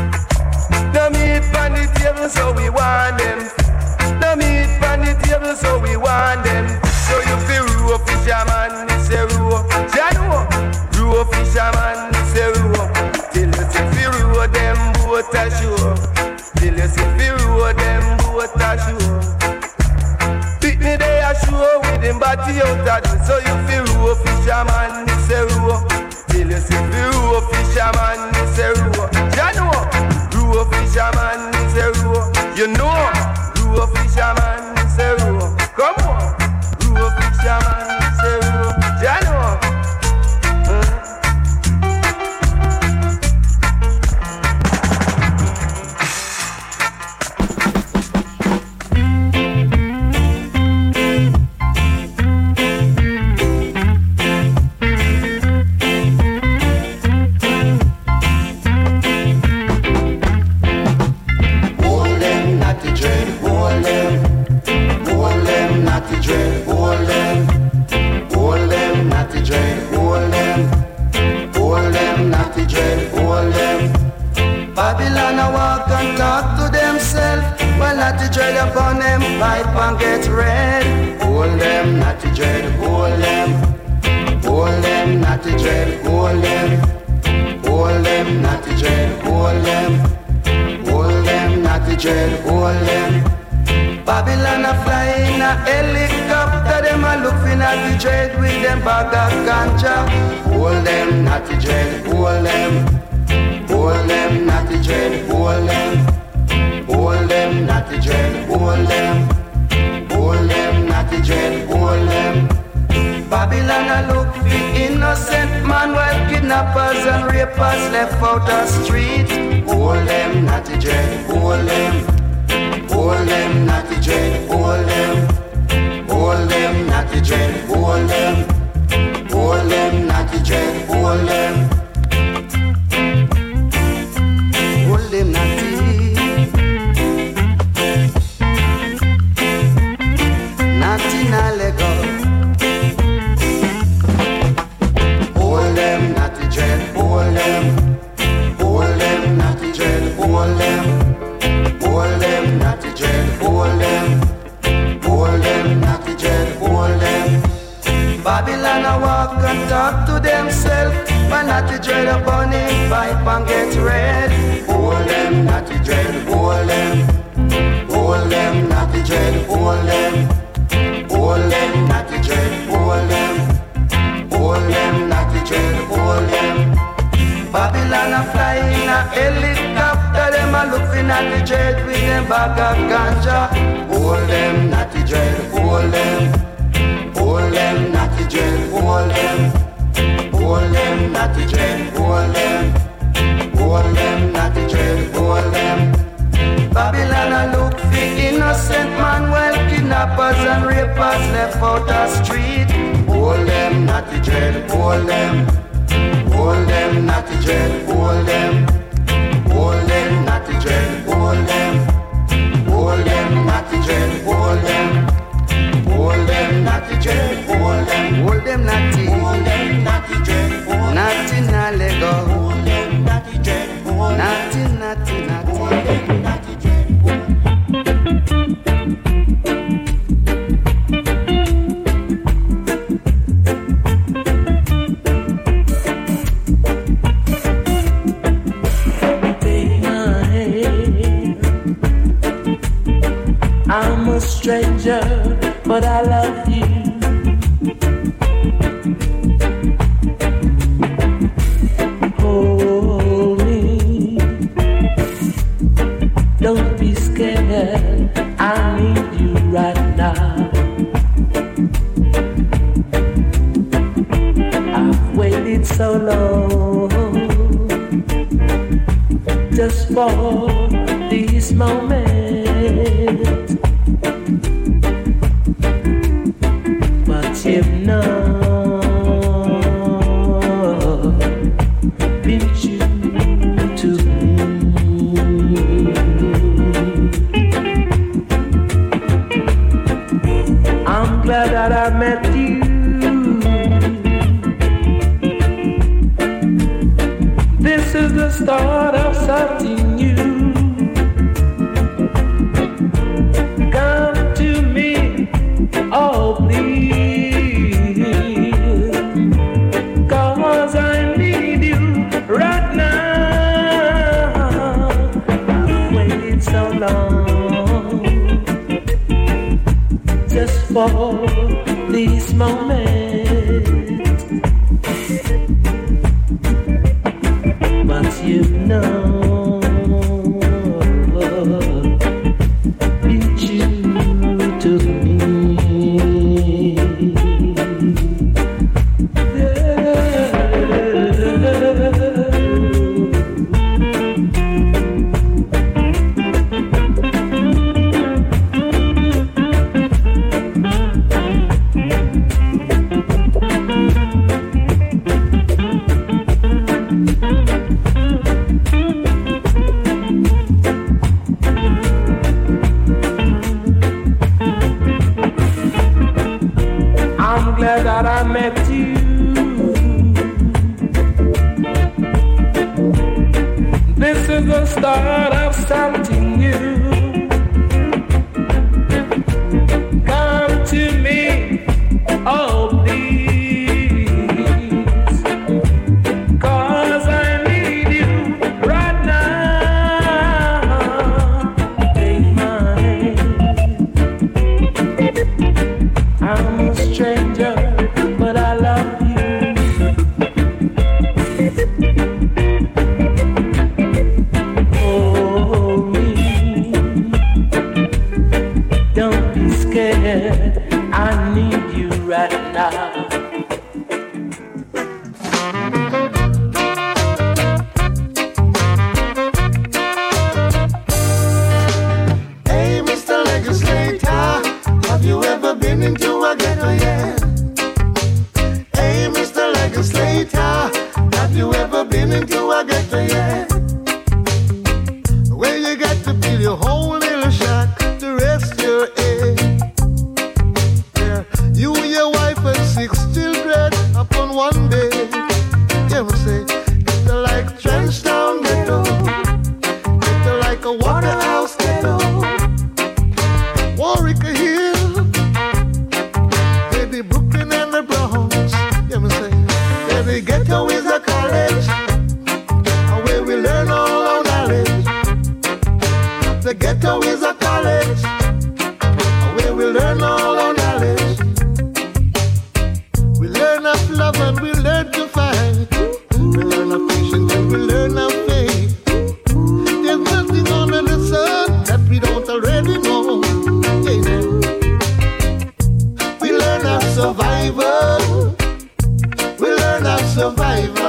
No meat on the table, so we want them. No meat on the table, so we want them. So you feel row, fisherman, me say row. Janwa, row, fisherman, me say row. Till you see feel row them boat ashore. Till you see feel row them boat ashore. Pitney they ashore with him body out a door. So you feel row, fisherman, me say row. Till you see feel row, fisherman, me say row. Janwa, row, fisherman, me say row. You know, row, fisherman, me say row. Come on, row, fisherman, me say row. Janwa. Babylon a walk and talk to themselves. Well, natty dread upon them, pipe and get red. Hold them, natty dread, hold them. Hold them, natty dread, hold them. Hold them, natty dread, hold them. Hold them, natty dread, hold them. Babylon a fly in a helicopter. Them a looking at the dread with them bag of ganja. Hold them, natty dread, hold them. Hold them, natty dread, hold them. Hold them, natty dread, hold them. Hold them, natty dread, hold them. Babylon a look for innocent man while kidnappers and rapers left out the street. Hold them, natty dread, hold them. Hold them, natty dread, hold them. Hold them, natty dread, hold them. Hold them, natty dread, hold them. Hold them, natty. Natty na let go. Hold them, natty dread, hold them. Hold them, natty dread, hold them. Hold them, natty dread, hold them. Hold them, natty dread, hold them. Babylon a walk and talk to themselves. But natty dread upon him, pipe and get red. Hold them, natty dread, hold them. Hold them, natty dread, hold them. Hold them, natty dread, hold them. Hold them, natty dread, hold them. Babylon a fly in a helicopter. Them a looking at the dread with them bag of ganja. Hold them, natty dread, hold them. Hold them, natty dread, hold them. Hold them, natty dread, hold them. Hold them, natty dread, hold them. Babylon a look for innocent man while kidnappers and rapers left out the street. Hold them, hold them, natty dread, hold them, natty dread, hold them, natty dread, hold them, natty dread, hold them, natty dread, natty na lego, natty dread, natty, natty, natty, natty dread. I'm a stranger, but I love you. Hold me, don't be scared, I need you right now. I've waited so long just for these moments. But you've not been true to me. I'm glad that I met you. This is the start of something new. Come to me, oh please, 'cause I need you right now. I've waited so long just for these moments, but you know be true to me. I'm glad that I met you. This is the start of something new. Come to me, oh please, 'cause I need you right now. Take my hand. I'm a stranger, but I love you. Hold me, don't be scared, I need you right now. Hey, Mr. Legislator, have you ever been into a ghetto yet? Hey, Mr. Legislator, have you ever been into a ghetto yet? Where you got to build your whole little shack to rest your head. Yeah, you, your wife, and 6 children upon one bed. You must say, it's like Trenchtown ghetto, it's like a Waterhouse ghetto, Warwick Hill, maybe Brooklyn and the Bronx. You must say, every ghetto is a college, where we learn all our knowledge. The ghetto is a college, where we learn all our knowledge. We learn of love and we learn to fight. We learn of patience and we learn of faith. There's nothing under the sun that we don't already know. Yeah. We learn of survival. We learn of survival.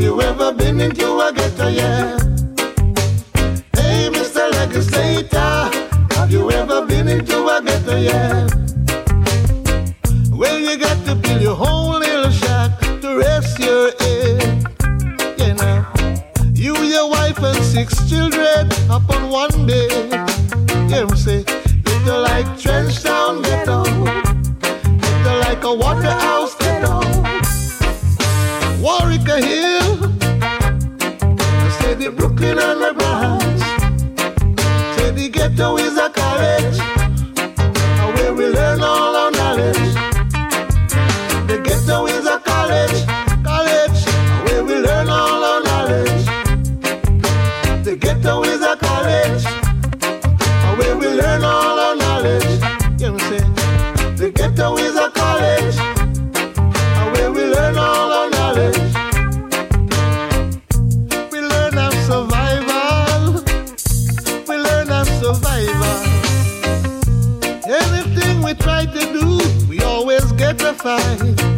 you ever been into a ghetto, yeah? Hey, Mr. Legislator, have you ever been into a ghetto, yeah? Well, you got to build your whole little shack to rest your head, you know. You, your wife, and 6 children up on one bed. You know, say, ghetto like Trenchtown ghetto, ghetto like a Waterhouse ghetto, Warwick Hill, say the Brooklyn and the Bronx, say the ghetto is a college, where we learn all our knowledge. The ghetto is a college, where we learn all our knowledge. The ghetto is a college, where we learn all our knowledge. You know what I'm saying? The ghetto is a college, where we learn all our knowledge. We learn of survival. We learn of survival. Anything we try to do, we always get a fight.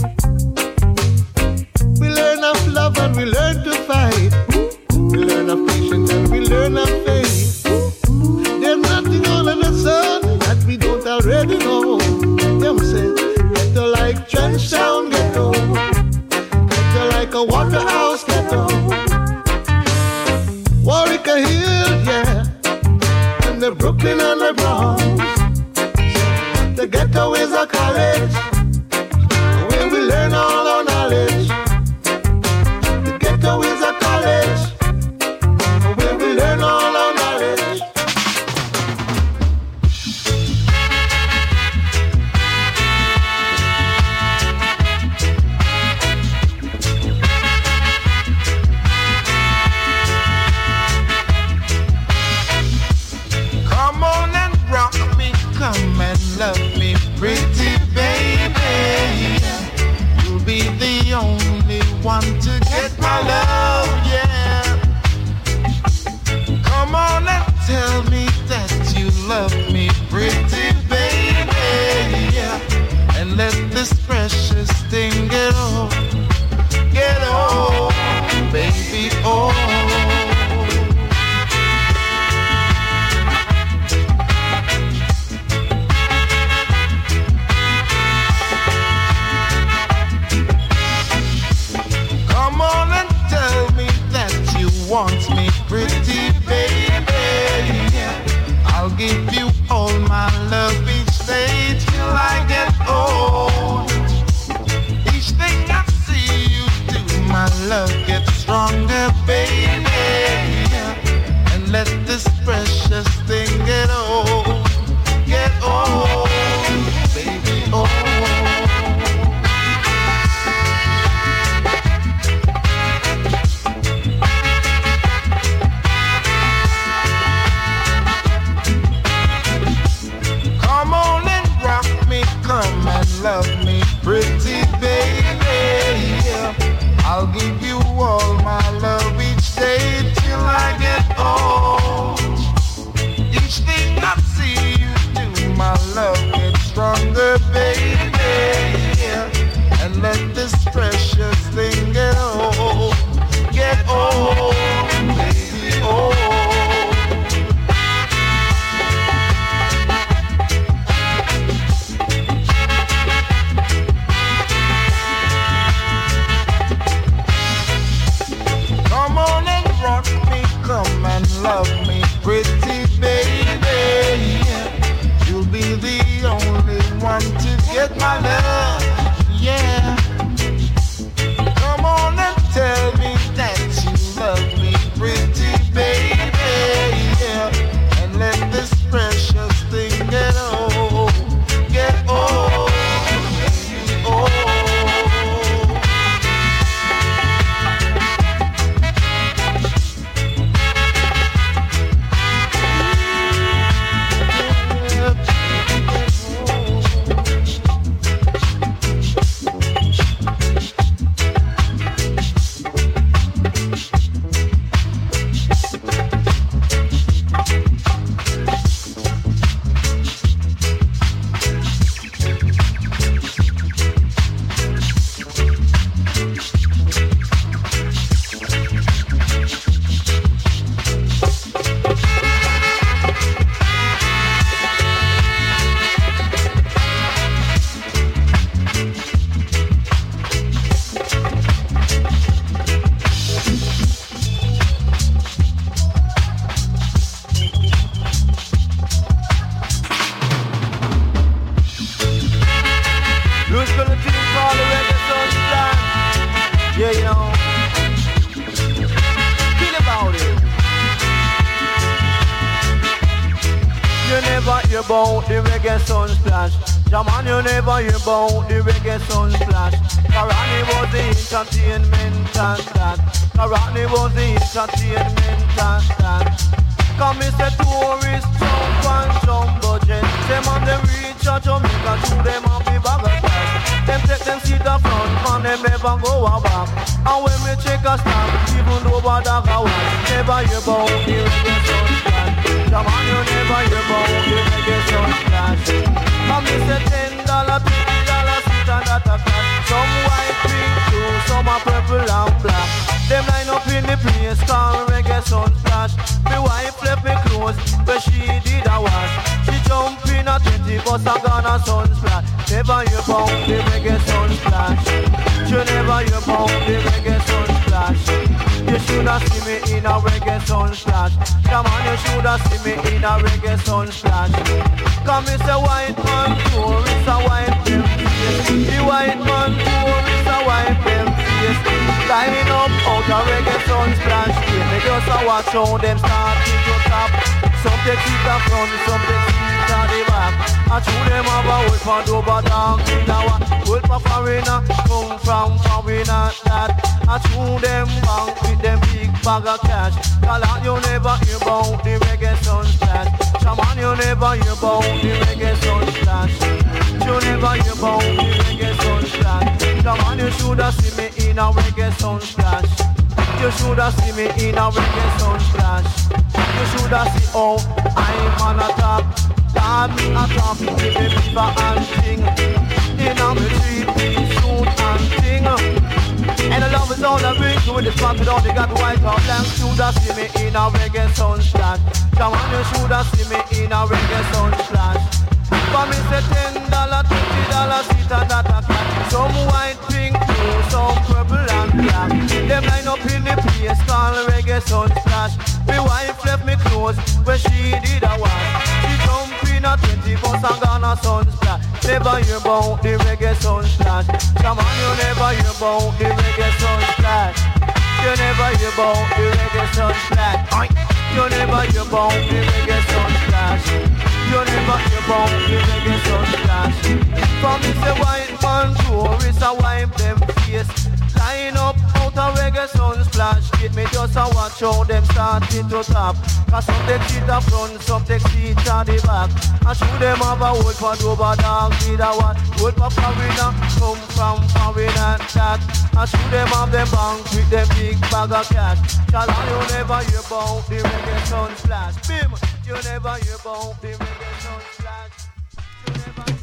We learn of love and we learn to fight. We learn of patience and we learn of faith. There's nothing under the sun that we don't already know. Them say, ghetto like Trenchtown ghetto, ghetto like a Waterhouse ghetto, Warwick Hill, yeah, and the Brooklyn and the Bronx. The ghetto is a college, where we learn all our knowledge. The ghetto is a college, where we learn all our knowledge. Come on and rock me, come and love me, pretty baby. You'll be the only one to get my love, yeah. Come on and tell me that you love me, pretty baby, yeah. And let this precious thing get on, baby, oh. Come on and tell me that you want me, pretty baby, yeah. I'll give you all my love each day till I get old. Each thing I see you do, my love gets stronger, baby, yeah. And let this precious thing get old, baby, oh. Come and love me, pretty baby, yeah. I'll give you all my love each day till I get old. Each thing I see you do, my love gets stronger, baby, yeah. And let this precious thing get old, baby, oh. Come and love me, pretty baby, yeah. You'll be the only one to get my love, yeah. Come on and tell me that you love me, pretty baby, yeah. And let this precious thing get old, baby, oh. about the reggae sun splash. Jaman, you never hear about the reggae sun splash. Karani was the entertainment and that. Karani was the entertainment and that. Come me say tourists jump and jumbo jet. Them on them reach a Jamaica, to them on the bag of cash. Them take them seat up front, and them never go back. And when me check a stamp, even though bad a go never hear about the reggae sun splash. Come on, you never hear about the reggae sun splash. Come me say $10, $20 seat and that a cash. Some white, pink too, some a purple and black. Them line up in the place called reggae sun splash. Me wife left me clothes, but she did a wash. She jump in a 20 bus and gone a sun splash. Never hear about the reggae sun splash. You never hear about the reggae sun splash. You shoulda see me in a reggae sun splash. Come on, you shoulda see me in a reggae sun splash. Come me say white man tourist a white them face. The white man tourist a white them face. Line up out a reggae sun splash. Me just a watch how them start to top. Some take it up front, some take it at the back. I chew them have a wolf and over dog in a one. Wolf a foreigner, come from foreigner that. I chew them bank with them big bag of cash. Call out you never hear about the reggae sun splash. Shaman you never hear about the reggae sun splash. You never hear about the reggae sun splash. Shaman you shoulda see me in a reggae sun splash. You shoulda see me in a reggae sun splash. You shoulda see how I'm on a top. God me a top, give me fever and ting. In a me 3-piece suit and ting. And the love is all I bring to this spot with all they got white or black. Shoulda see me in a reggae sun splash. Come on, you shoulda see me in a reggae sun splash. For me say $10, $20 seat and that a cat. Some white, pink, blue, some purple and black. Them line up in the place called reggae sun splash. My wife left me clothes where she did a wash. She jump in a 20 bus and gone a sun splash. Never hear about the reggae sun splash. Come on, you never hear about the reggae sun splash. You never hear about the reggae sun splash. You never hear about the reggae sun splash. You never hear about the reggae sun splash. From me say white man tourists a wipe them face. Line up out a reggae sun splash. Get me just a watch how them starting to tap. Cause some take seat up front, some take seat at the back. And show them have a wolf and over dog with a what. Wolf a foreigner, come from foreigner that. And show them have them bank with them big bag of cash. Cause you never hear about the reggae sun splash. Bim, you never hear about the reggae sun splash. You never hear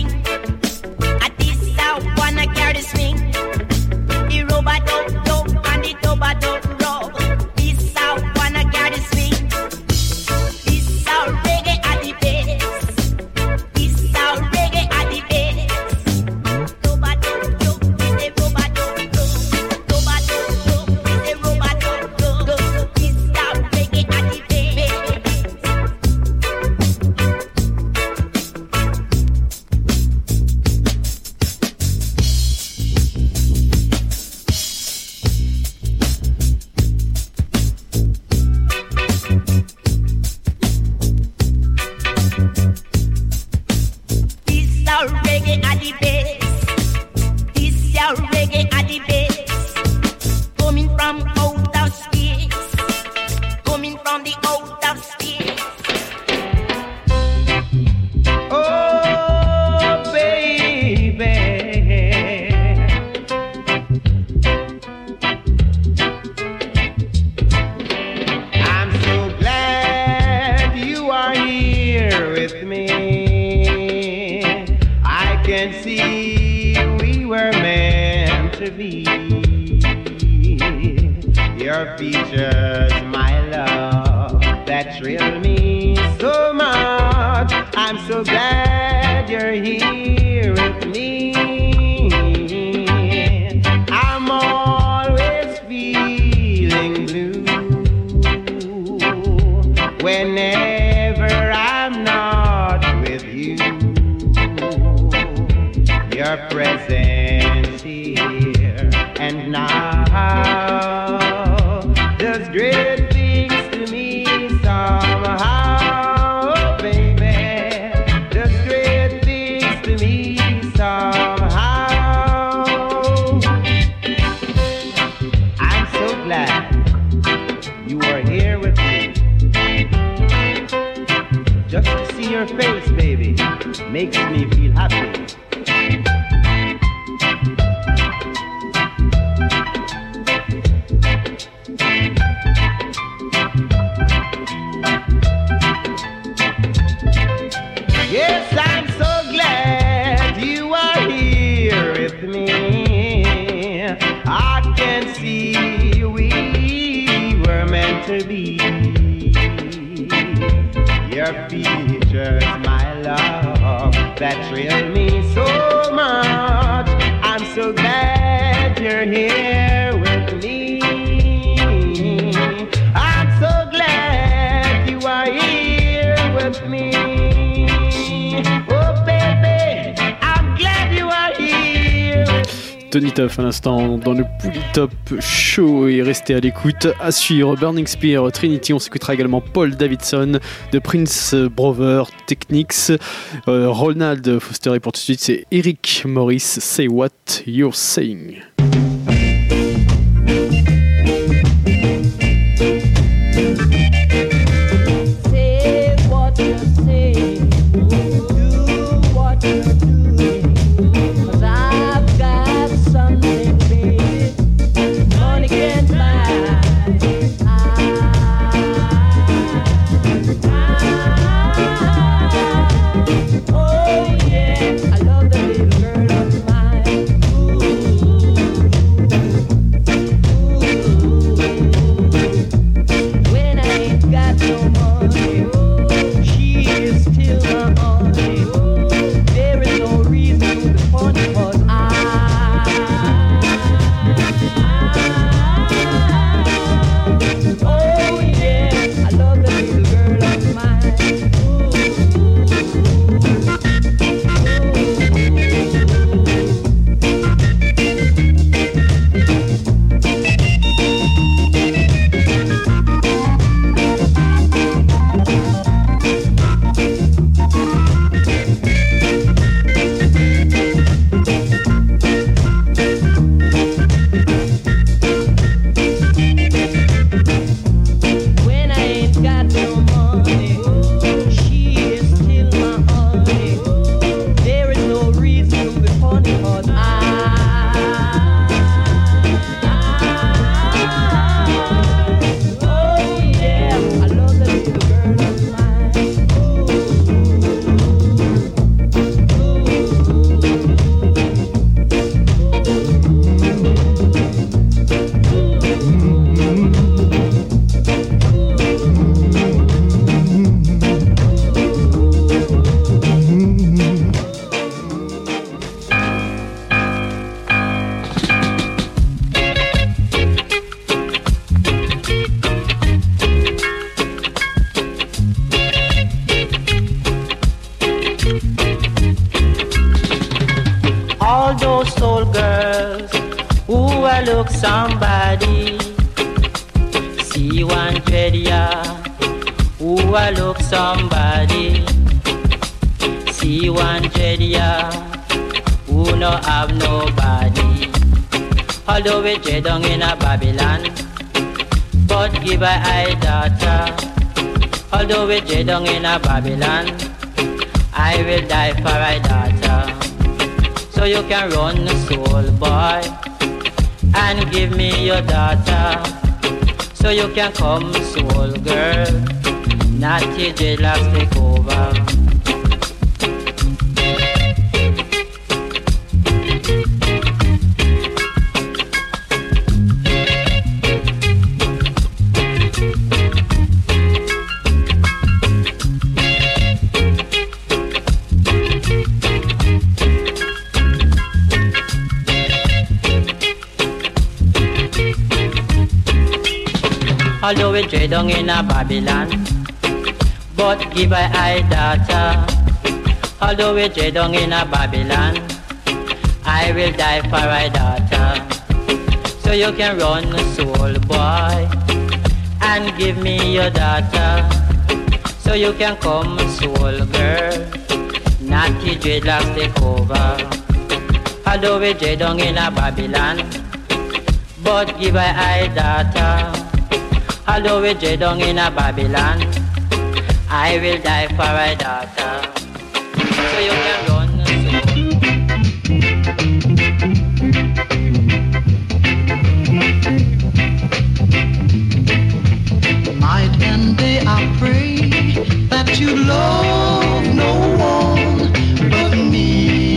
Robot, This your reggae at the base. This your reggae at the base. Coming from outer space. Coming from the outer space. Oh, baby. I'm so glad you are here with me. I can see we were meant to be. Your features, my love, that thrill me so much. I'm so glad you're here with me. I'm always feeling blue whenever I'm not with you. Your presence here and now does great things to me somehow, baby. Does great things to me somehow. I'm so glad you are here with me. Just to see your face, baby, makes me feel happy. Yes, I'm so glad you are here with me. I can see we were meant to be. Your features, my love, that thrill me so much. I'm so glad you're here with me. I'm so glad you are here with me. Oh baby, I'm glad you are here. Tony Tuff à l'instant dans le Polytop Show et restez à l'écoute. À suivre Burning Spear, Trinity, on s'écoutera également Paul Davidson de Prince Brother Technics, Ronald Foster et pour tout de suite c'est Eric Morris, Say What You're Saying. Say what you're saying, do what you're doing, 'cause I've got something, baby, money can't buy. Oh yeah, I love the little girl of mine. When I ain't got no money, she is still my honey. There is no reason to be funny, 'cause oh yeah, I love the little girl of mine. When I ain't got no money, she is still my honey. There is no reason to be funny, 'cause oh yeah, I love the little girl of mine. All those old girls who I look somebody, see one dread ya, who I look somebody. 300, yeah, who no have nobody. Although we trade down in a Babylon, but give I daughter. Although we trade down in a Babylon, I will die for I daughter. So you can run, soul boy, and give me your daughter. So you can come, soul girl, not till dreadlocks take over. Although we trade down in a Babylon, but give I daughter. Although we trade down in a Babylon, I will die for I daughter. So you can run, soul boy, and give me your daughter. So you can come, soul girl, naughty dreadlocks take over. Although we trade down in a Babylon, but give I daughter. Although we trade down in a Babylon, I will die for a daughter. So you can run, Night and day I pray that you love no one but me.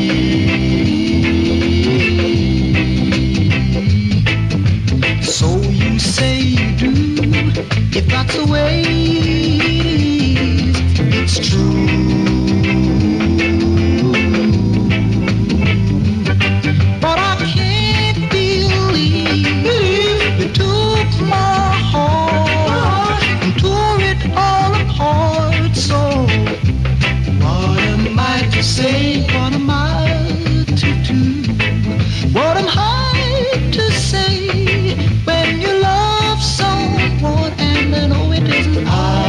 So you say you do. If that's the way it is, it's true. But I can't believe you took my heart and tore it all apart. So what am I to say? What am I to do? What am I to say when you love someone and I know it isn't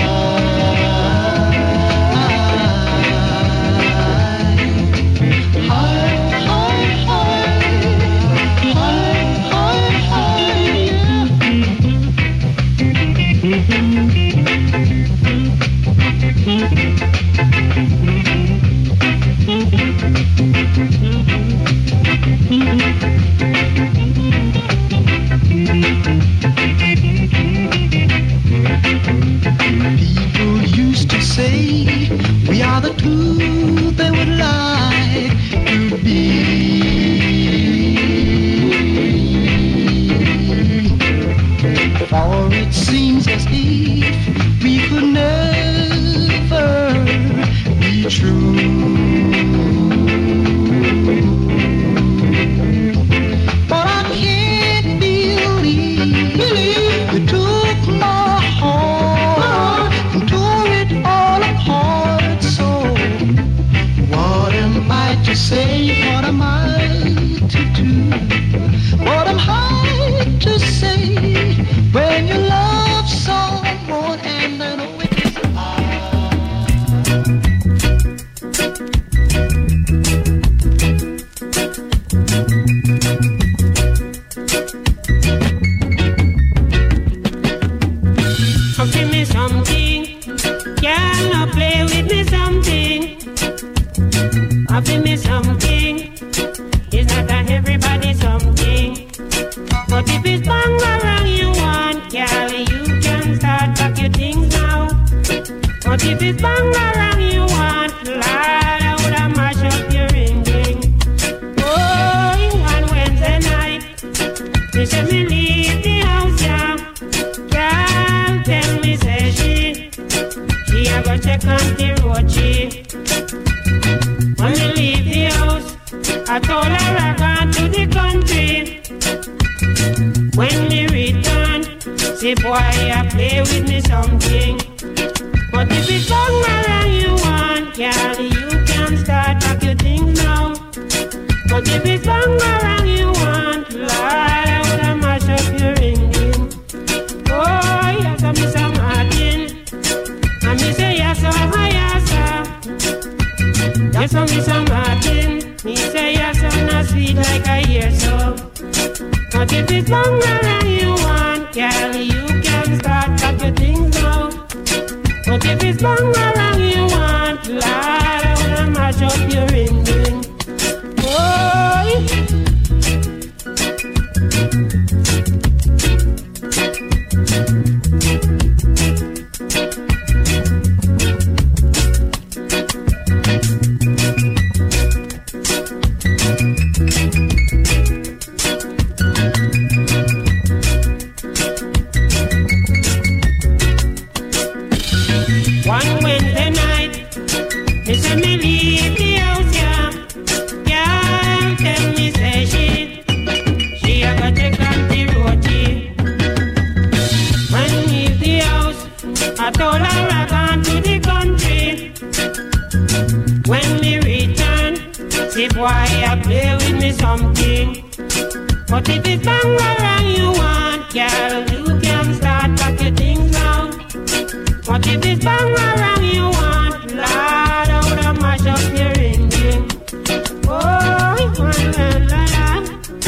People used to say we are the two they would like to be. For it seems as if we could never be true. But I can't believe you took my heart and tore it all apart. So what am I to say? What am I to do? What am I to say when you love someone and I know it isn't Give me something, girl, now play with me something. Give me something, it's not a everybody something. But if it's bangarang you want, girl, you can start back your things now. But if it's bangarang you want, Lord, I woulda mash up your ring. Oh, on Wednesday night, they said me leave the house, yeah. Girl, tell me, say she a go check on the road, she. When we leave the house, I told her I gone to the country. When we return, say boy, I play with me something. But if it's bangarang you want, girl, you can start back your things now. But if it's bangarang you want, Lord, I woulda mash up your ringing. Oh, yes, I'm Mr. Martin. And me say yes, oh, yes, sir. Yes, I'm Mr. Martin. Me say your son is sweet like I hear so. But if it's longer than you want, girl, you can start pack your things now. But if it's longer than you want, Lord, I wanna mash up your ring ring. One Wednesday night, me say me leave the house, yeah. Girl tell me say she a got take on the road. When me leave the house, I told her I gone to the country. When me return, see boy I play with me something. But if it's longer than you want, girl, you can start pack your things now. But if it's longer than you want, Lord, I woulda mash up your ring ring. Oh, la la la.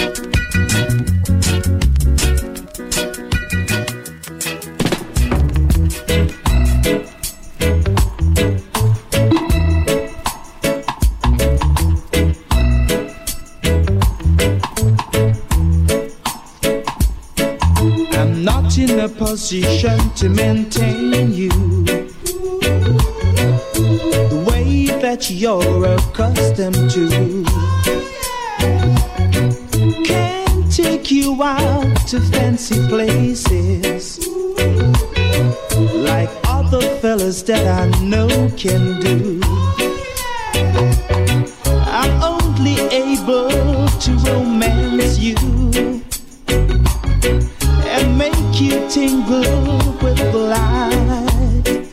I'm not in a position to maintain you the way that you're accustomed to. Can't take you out to fancy places like other fellas that I know can do. I'm only able to romance you and make you tingle with light.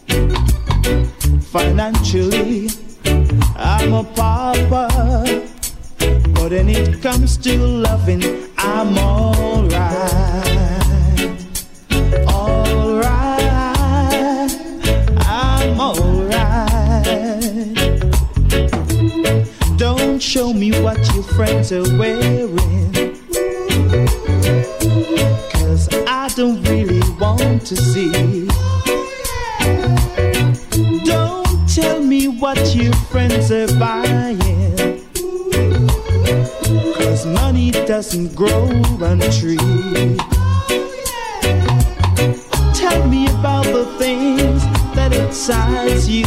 Financially, I'm a pauper, but when it comes to loving, I'm alright. Alright, I'm alright. Don't show me what your friends are wearing, I don't really want to see. Don't tell me what your friends are buying, 'cause money doesn't grow on trees. Tell me about the things that excite you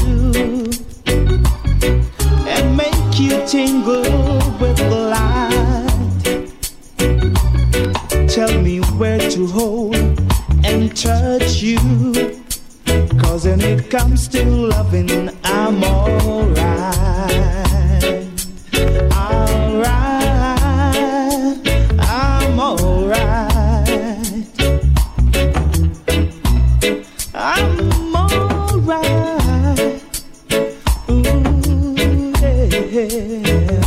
and make you tingle with the light. Tell me where to hold and touch you, 'cause when it comes to loving, I'm alright. Alright, I'm alright. I'm alright. Ooh, yeah.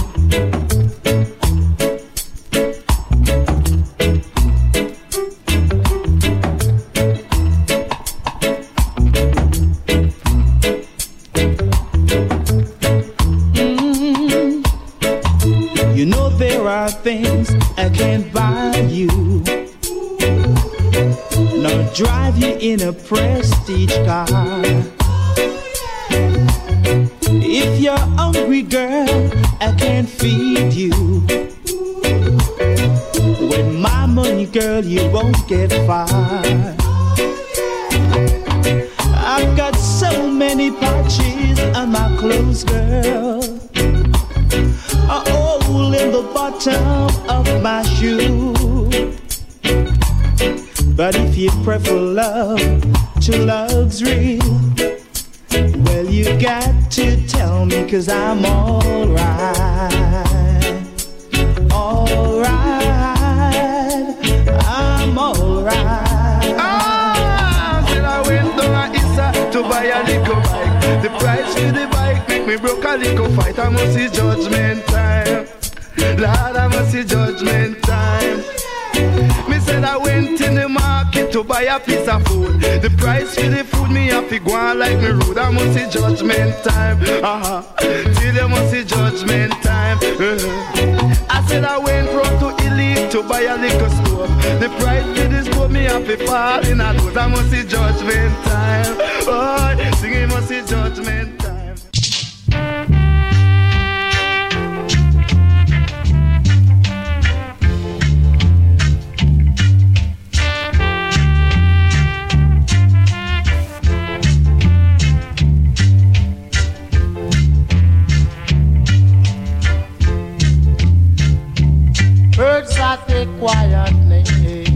Things I can't buy you, nor drive you in a prestige car. If you're hungry, girl, I can't feed you. With my money, girl, you won't get far. I've got so many patches on my clothes, girl, a hole in the bottom of my shoe. But if you prefer love to luxury, well, you got to tell me, 'cause I'm alright. Alright, I'm alright. Said I went down at Issa to buy a little bike. The price for the bike make me broke a little fight. I must see judgment time. Lord, I must see judgment time. Me said I went in the market to buy a piece of food. The price for the food me have to go on like me road. I must see judgment time. Till you must see judgment time. I said I went round to Elite to buy a liquor stove. The price for this put me up if fall in a dose. I must see judgment time. Oh, singing must see judgment time. Birds at a quiet place,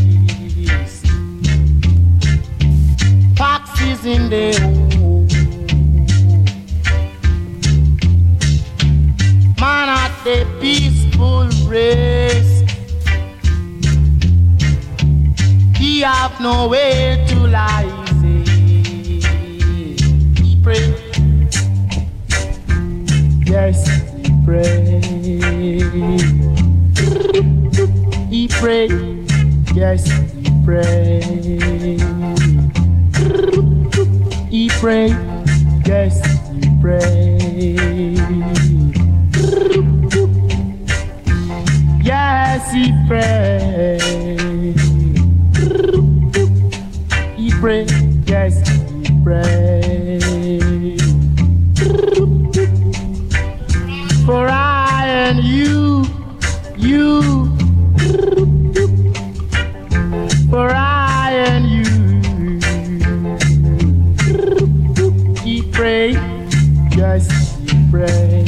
foxes in the hole, man at the peaceful race, he have nowhere to lie, he pray, yes he pray. He pray, yes, he pray. He pray, yes, he pray. Yes, he pray. He pray, yes, he pray. For I and you. For I and you, he pray, yes, he pray.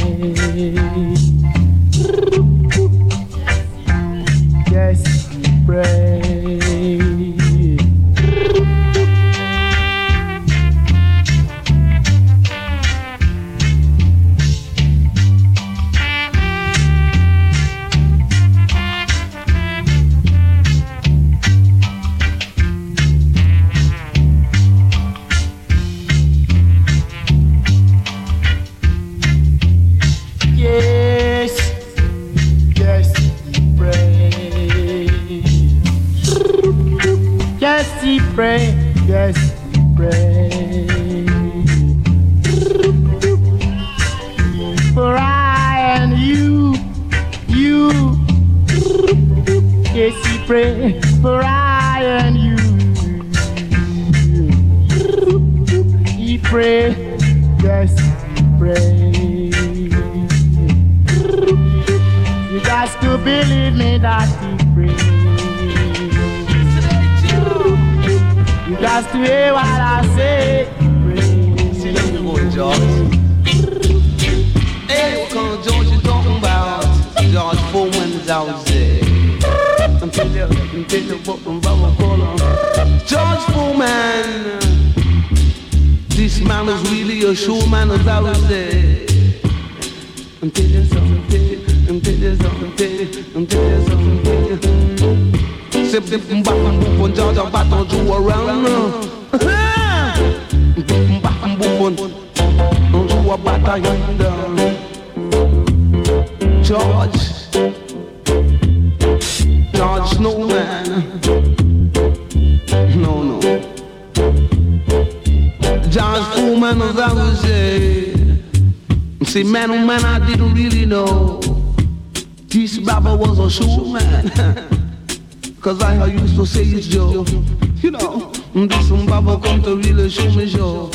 Yes, he pray. He pray, yes, he pray. For I and you, yes, he pray. For I and you, he pray, yes, he pray. You got to believe me that he pray. You got to hear what I say. See, let me go, George. Hey, what kind of George you talking about? George Foreman's out there. I'm telling you what I'm calling. George Foreman. This man is really a showman as I was there. I'm telling you something, I'm telling you something, I'm telling you something. Sip from back and boop on George, I'm back on you around. Back and boop on, don't you a batter yonder. George Snowman. No. George Foreman as I was there. See, man, oh man, I didn't really know this Baba was a showman. Cause I used to say it's Joe. You know, this some Baba come to really show me show.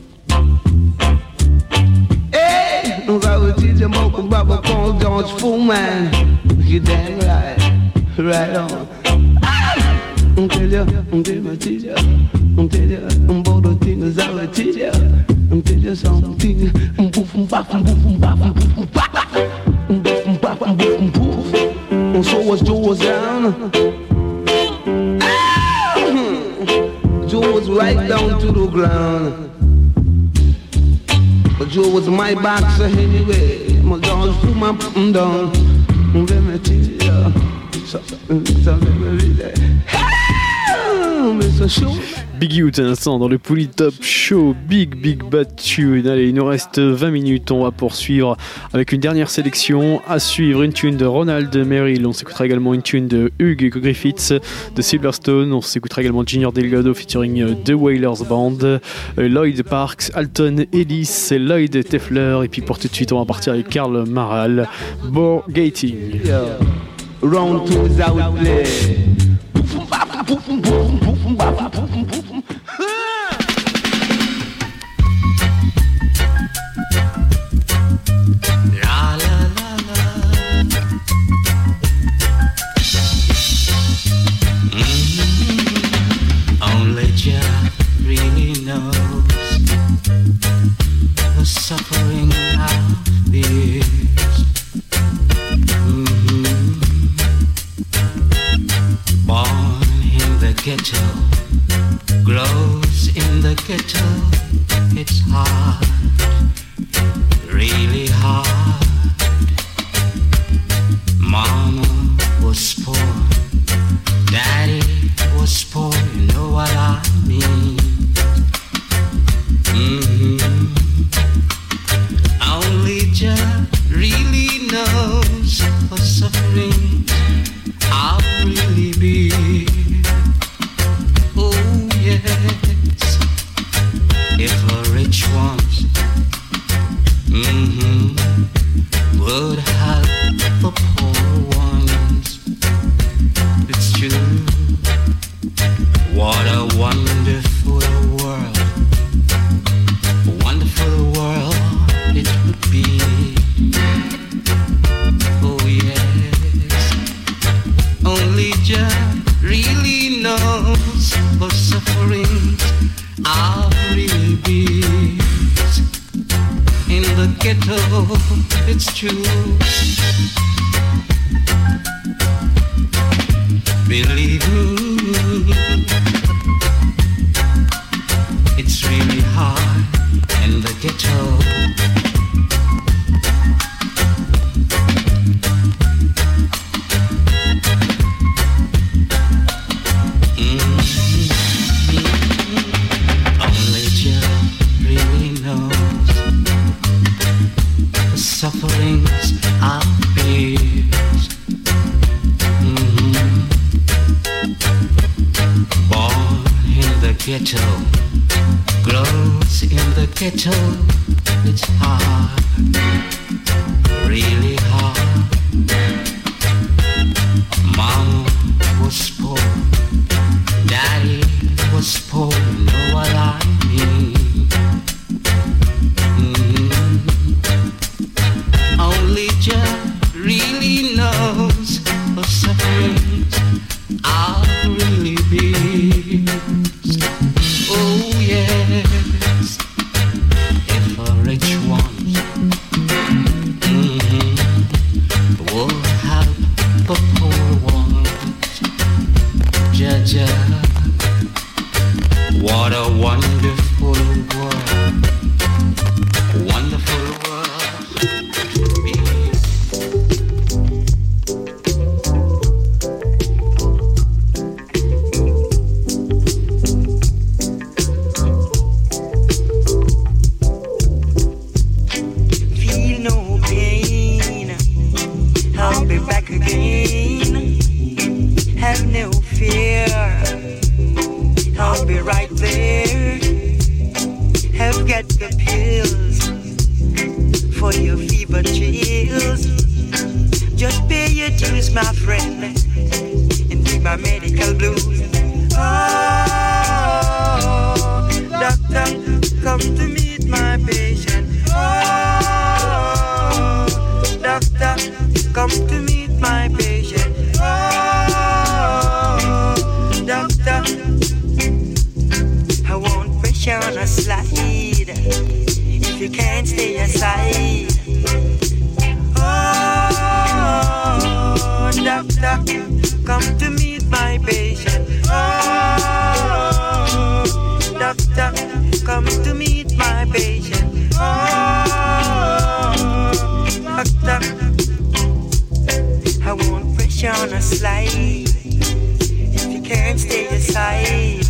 Hey, I will teach him about Baba called George Foreman. You damn right, right on. I'm tell you, I'm teach you. I'm tell you, I'm about the things I will teach you. I'm tell you something. I'm boofing back, I'm boofing back, I'm boofing back. I'm boofing back, I'm boofing poof. And so was Joe was down. Joe was right down to the ground. But Joe was my boxer anyway. My George Foreman put him down. Let me tell you. So let me read that. Big Youth à l'instant dans le Polytop Show, Big Bad Tune. Allez, il nous reste 20 minutes, on va poursuivre avec une dernière sélection. À suivre, une tune de Ronald Merrill, on s'écoutera également une tune de Hugh Griffiths de Silverstone, on s'écoutera également Junior Delgado featuring The Wailers Band, Lloyd Parks, Alton Ellis, Lloyd Teffler, et puis pour tout de suite on va partir avec Karl Marral, Bore Gating. Round 2's out there. Only Jah really knows the suffering of this. Born in the ghetto, grows in the ghetto. It's hard, really hard. Mama was poor, Daddy was poor, you know what I mean. Only Jah really knows the suffering I'll really be. Oh yes, if a rich ones would help the poor ones. It's true. What a wonderful world, a wonderful world it would be. Oh yes, only Jah really knows the sufferings I'll really be. In the ghetto, it's true. Believe me, it's really hard in the ghetto. Only Jah really knows the sufferings I face. Born in the ghetto, grows in the ghetto. It's hard, really hard. Mama was poor, Daddy was poor, you know what I mean. Only Jah really knows the sufferings I'll really be. Oh yes, if a rich one will help the poor ones. Jah Jah, what a wonderful world, wonderful world to be. Feel no pain, I'll be back again. Have no fear, I'll be right there. Have got the pills for your fever chills. Just pay your dues, my friend, and take my medical blues. Oh, doctor, come to meet my patient. Oh, doctor, come to meet my patient. Oh, doctor, I won't pressure on a slide if you can't stay aside. Oh, doctor, come to meet my patient. Oh, doctor, come to meet my patient. Oh, doctor, I won't pressure on a slide if you can't stay aside.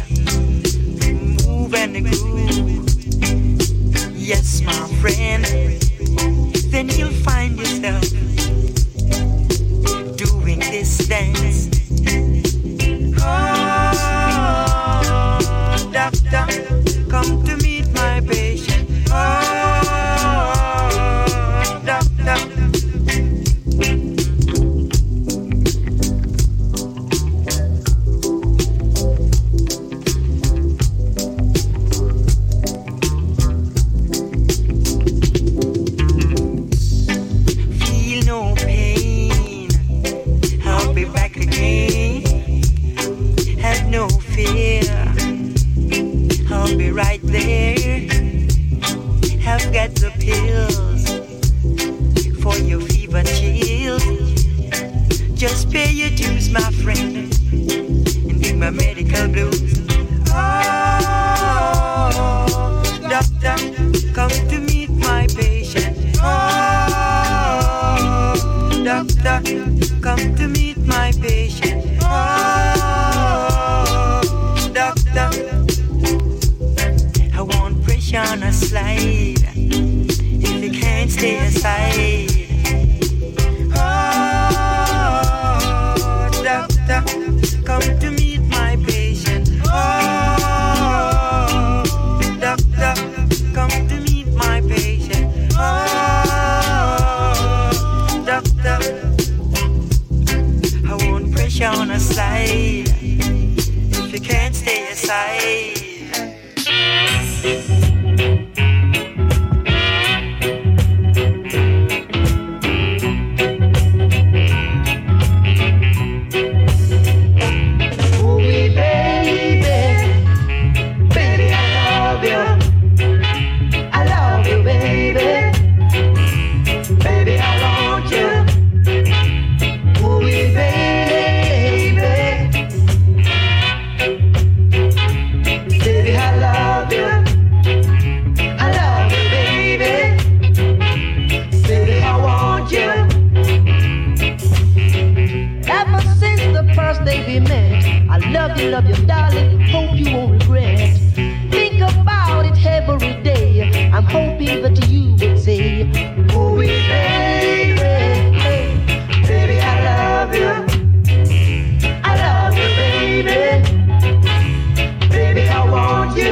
side. Love you, darling, hope you won't regret. Think about it every day. I'm hoping that you would say, ooh, baby, baby, I love you. I love you, baby. Baby, I want you.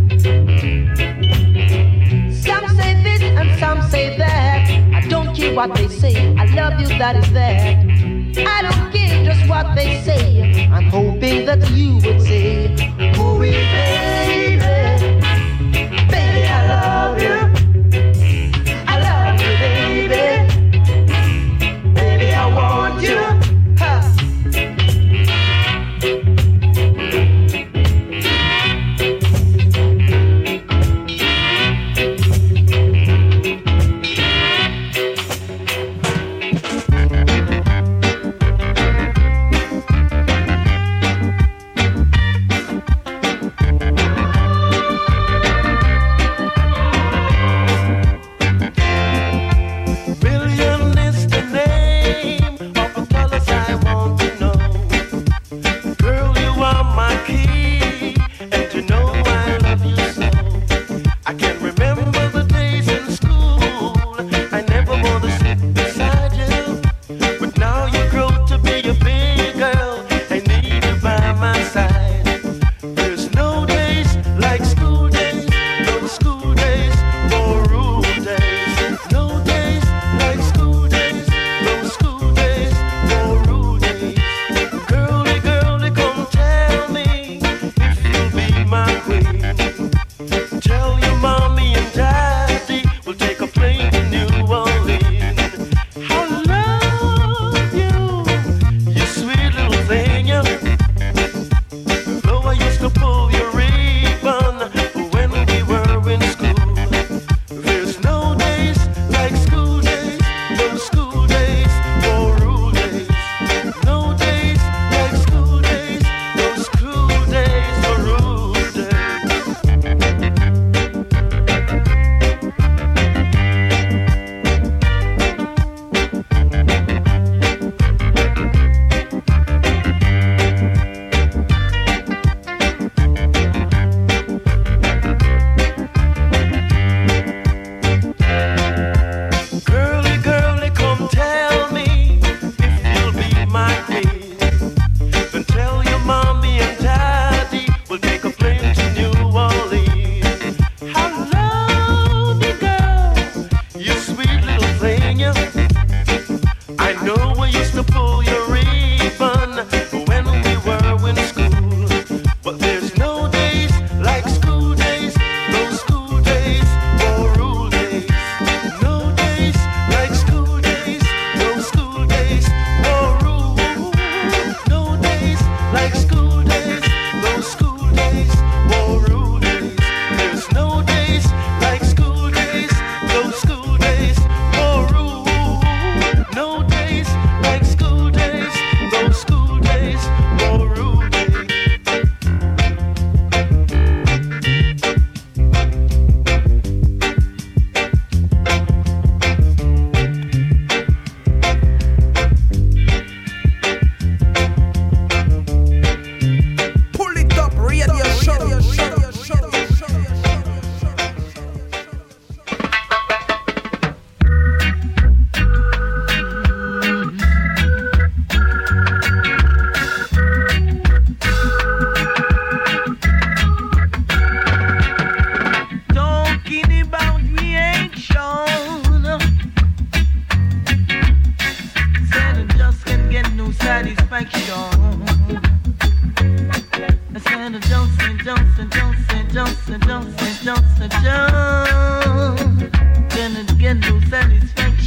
Some say this and some say that. I don't care what they say. I love you, that is that. I don't care just what they say. I'm hoping that you would say, ooh, baby, baby, I love you. I love you, baby. Baby, I want you.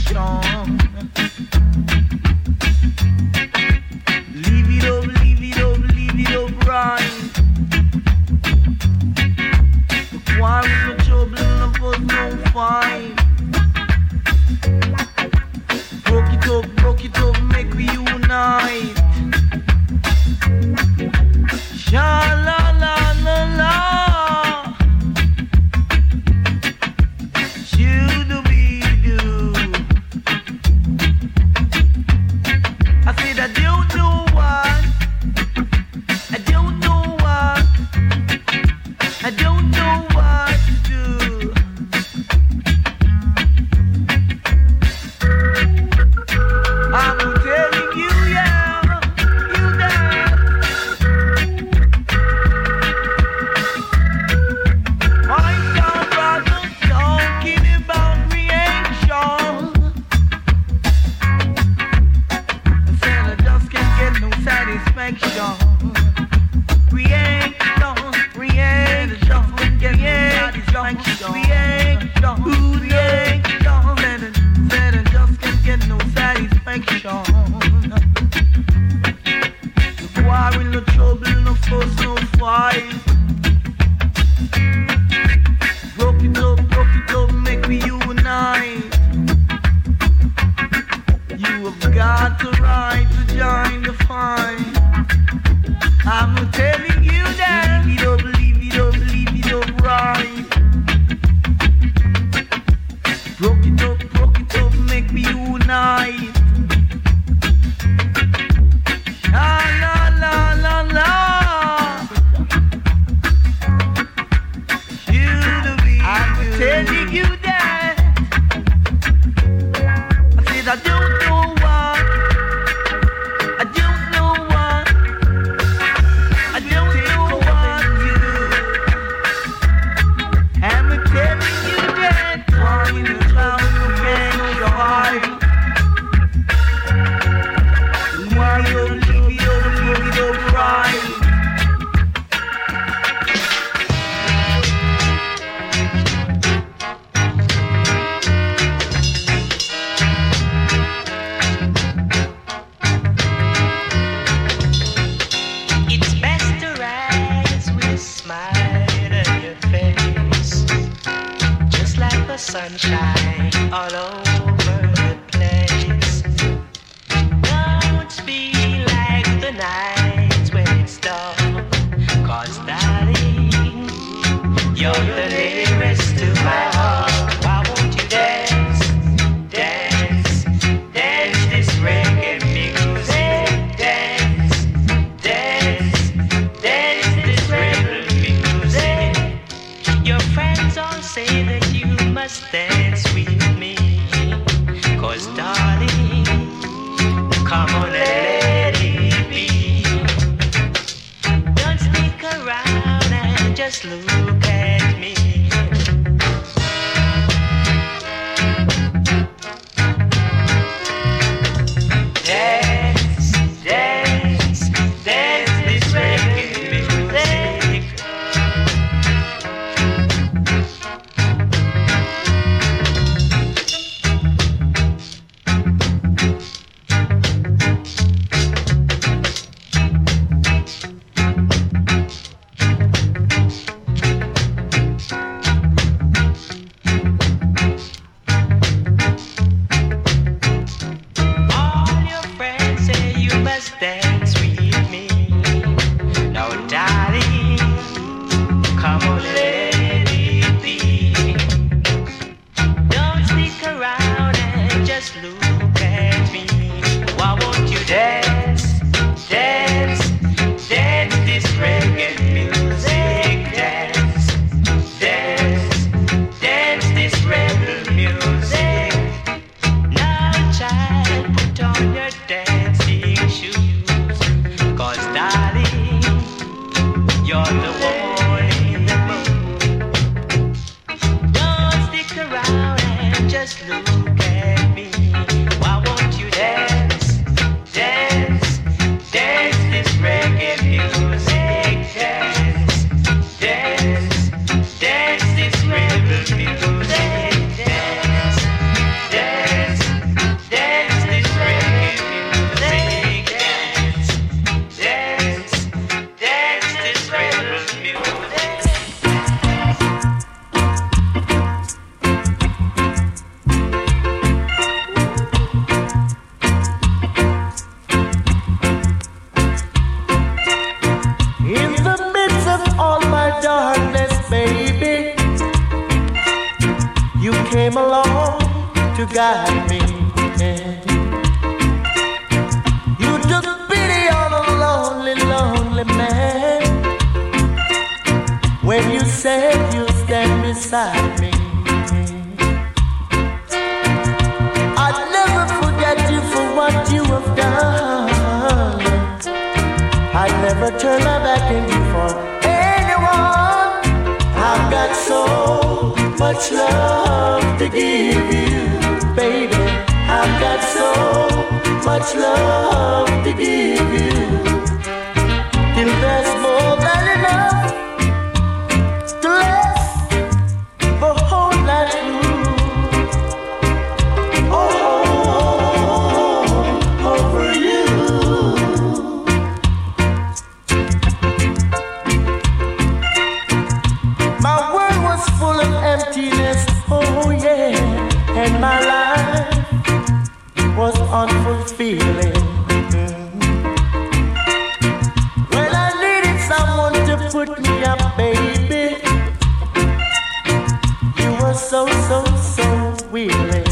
satisfaction. Leave it up, leave it up, leave it up right. The quarrel, no trouble, no fuss, no fight. Broke it up, make we unite. Sha la la la la. Should we do? I said I don't know what. I don't know what. I don't know what to do. I'm telling you, yeah, you there. My young brother talking about reaction. I said I just can't get no satisfaction. Reaction, get satisfaction. Said I just can't get no satisfaction. No quarrel, no trouble, no fuss, no fight. Broke it up, make we unite. You have got the right to join the fight. I'm telling you that. Leave it up right. Broke it up, make me unite. La la la la la. I'm telling you that. I said I don't know what. I don't know what. I don't know what to do. I'm telling you that. Why you clown you can't survive? Why you leave it up right? It's best to rise with a smile on your face, just like the sunshine all over the place. Don't be like the nights when it's dark, 'cause darling, you're the nearest to my heart. Why won't you dance, dance, dance this reggae music? Dance, dance, dance this reggae music. Your friends all say that you must dance with me, 'cause darling, come on and let it be. Don't stick around and just look at me. Dance, dance, dance this reggae music. All your friends say you must dance with me. Now, darling, come on, let it be. Don't stick around and just look at me. Why won't you dance, dance, dance this reggae music? Dance, dance, dance this reggae music. Now, child, put on your dancing shoes, 'cause darling, you're the one in the mood. Don't stick around and just look at me. Why won't you dance, dance, dance this reggae music? Dance, dance, dance this reggae music. Dance, dance, got me. You took pity on a lonely, lonely man when you said you'll stand beside me. I'd never forget you for what you have done. I'd never turn my back on you for anyone. I've got so much love to give you, baby. I've got so much love to give you. Till there's more than enough to last the whole night through. Oh, over you. My world was full of emptiness, oh yeah, and my life was unfulfilling. When I needed someone to put me up, baby, you were so willing.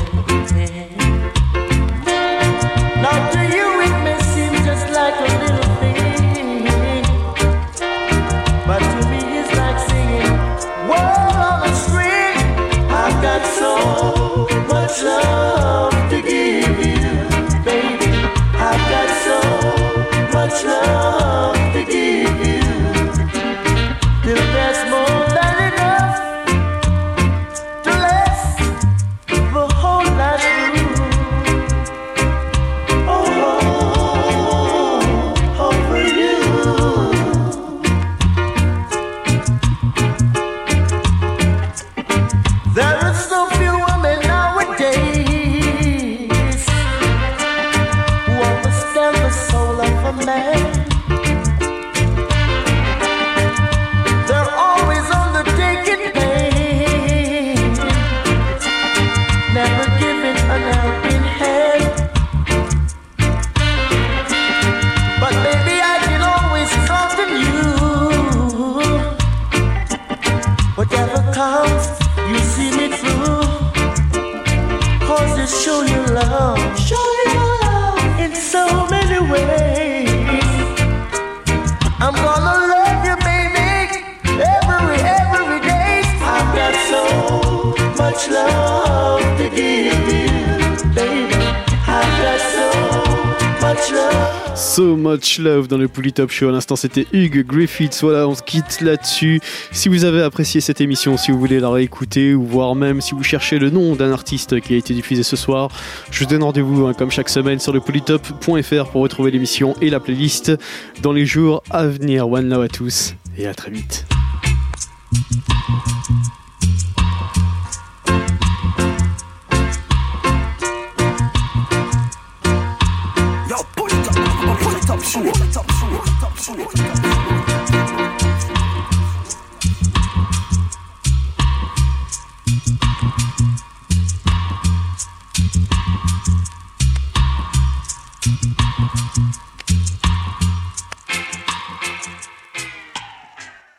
Now to you it may seem just like a little thing, but to me it's like singing word on a string. I've got so much love to give you, baby. I've got so much love to give you. Till there's more than enough to last the whole night through. Oh, over you. There are so few women nowadays who understand the soul of a man. They're always undertaking pain, never giving an helping hand. But baby, I can always count on you. Whatever comes, you see me through. Cause you show your love in so many ways. I'm gonna love you, baby, every day. I've got so much love to give you, baby. I've got so much love. So Much Love dans le Polytop Show. À l'instant, c'était Hugh Griffiths. Voilà, on se quitte là-dessus. Si vous avez apprécié cette émission, si vous voulez la réécouter, ou voire même si vous cherchez le nom d'un artiste qui a été diffusé ce soir, je vous donne rendez-vous, comme chaque semaine, sur le polytop.fr pour retrouver l'émission et la playlist dans les jours à venir. One love à tous et à très vite. Yo, pull it up, sure.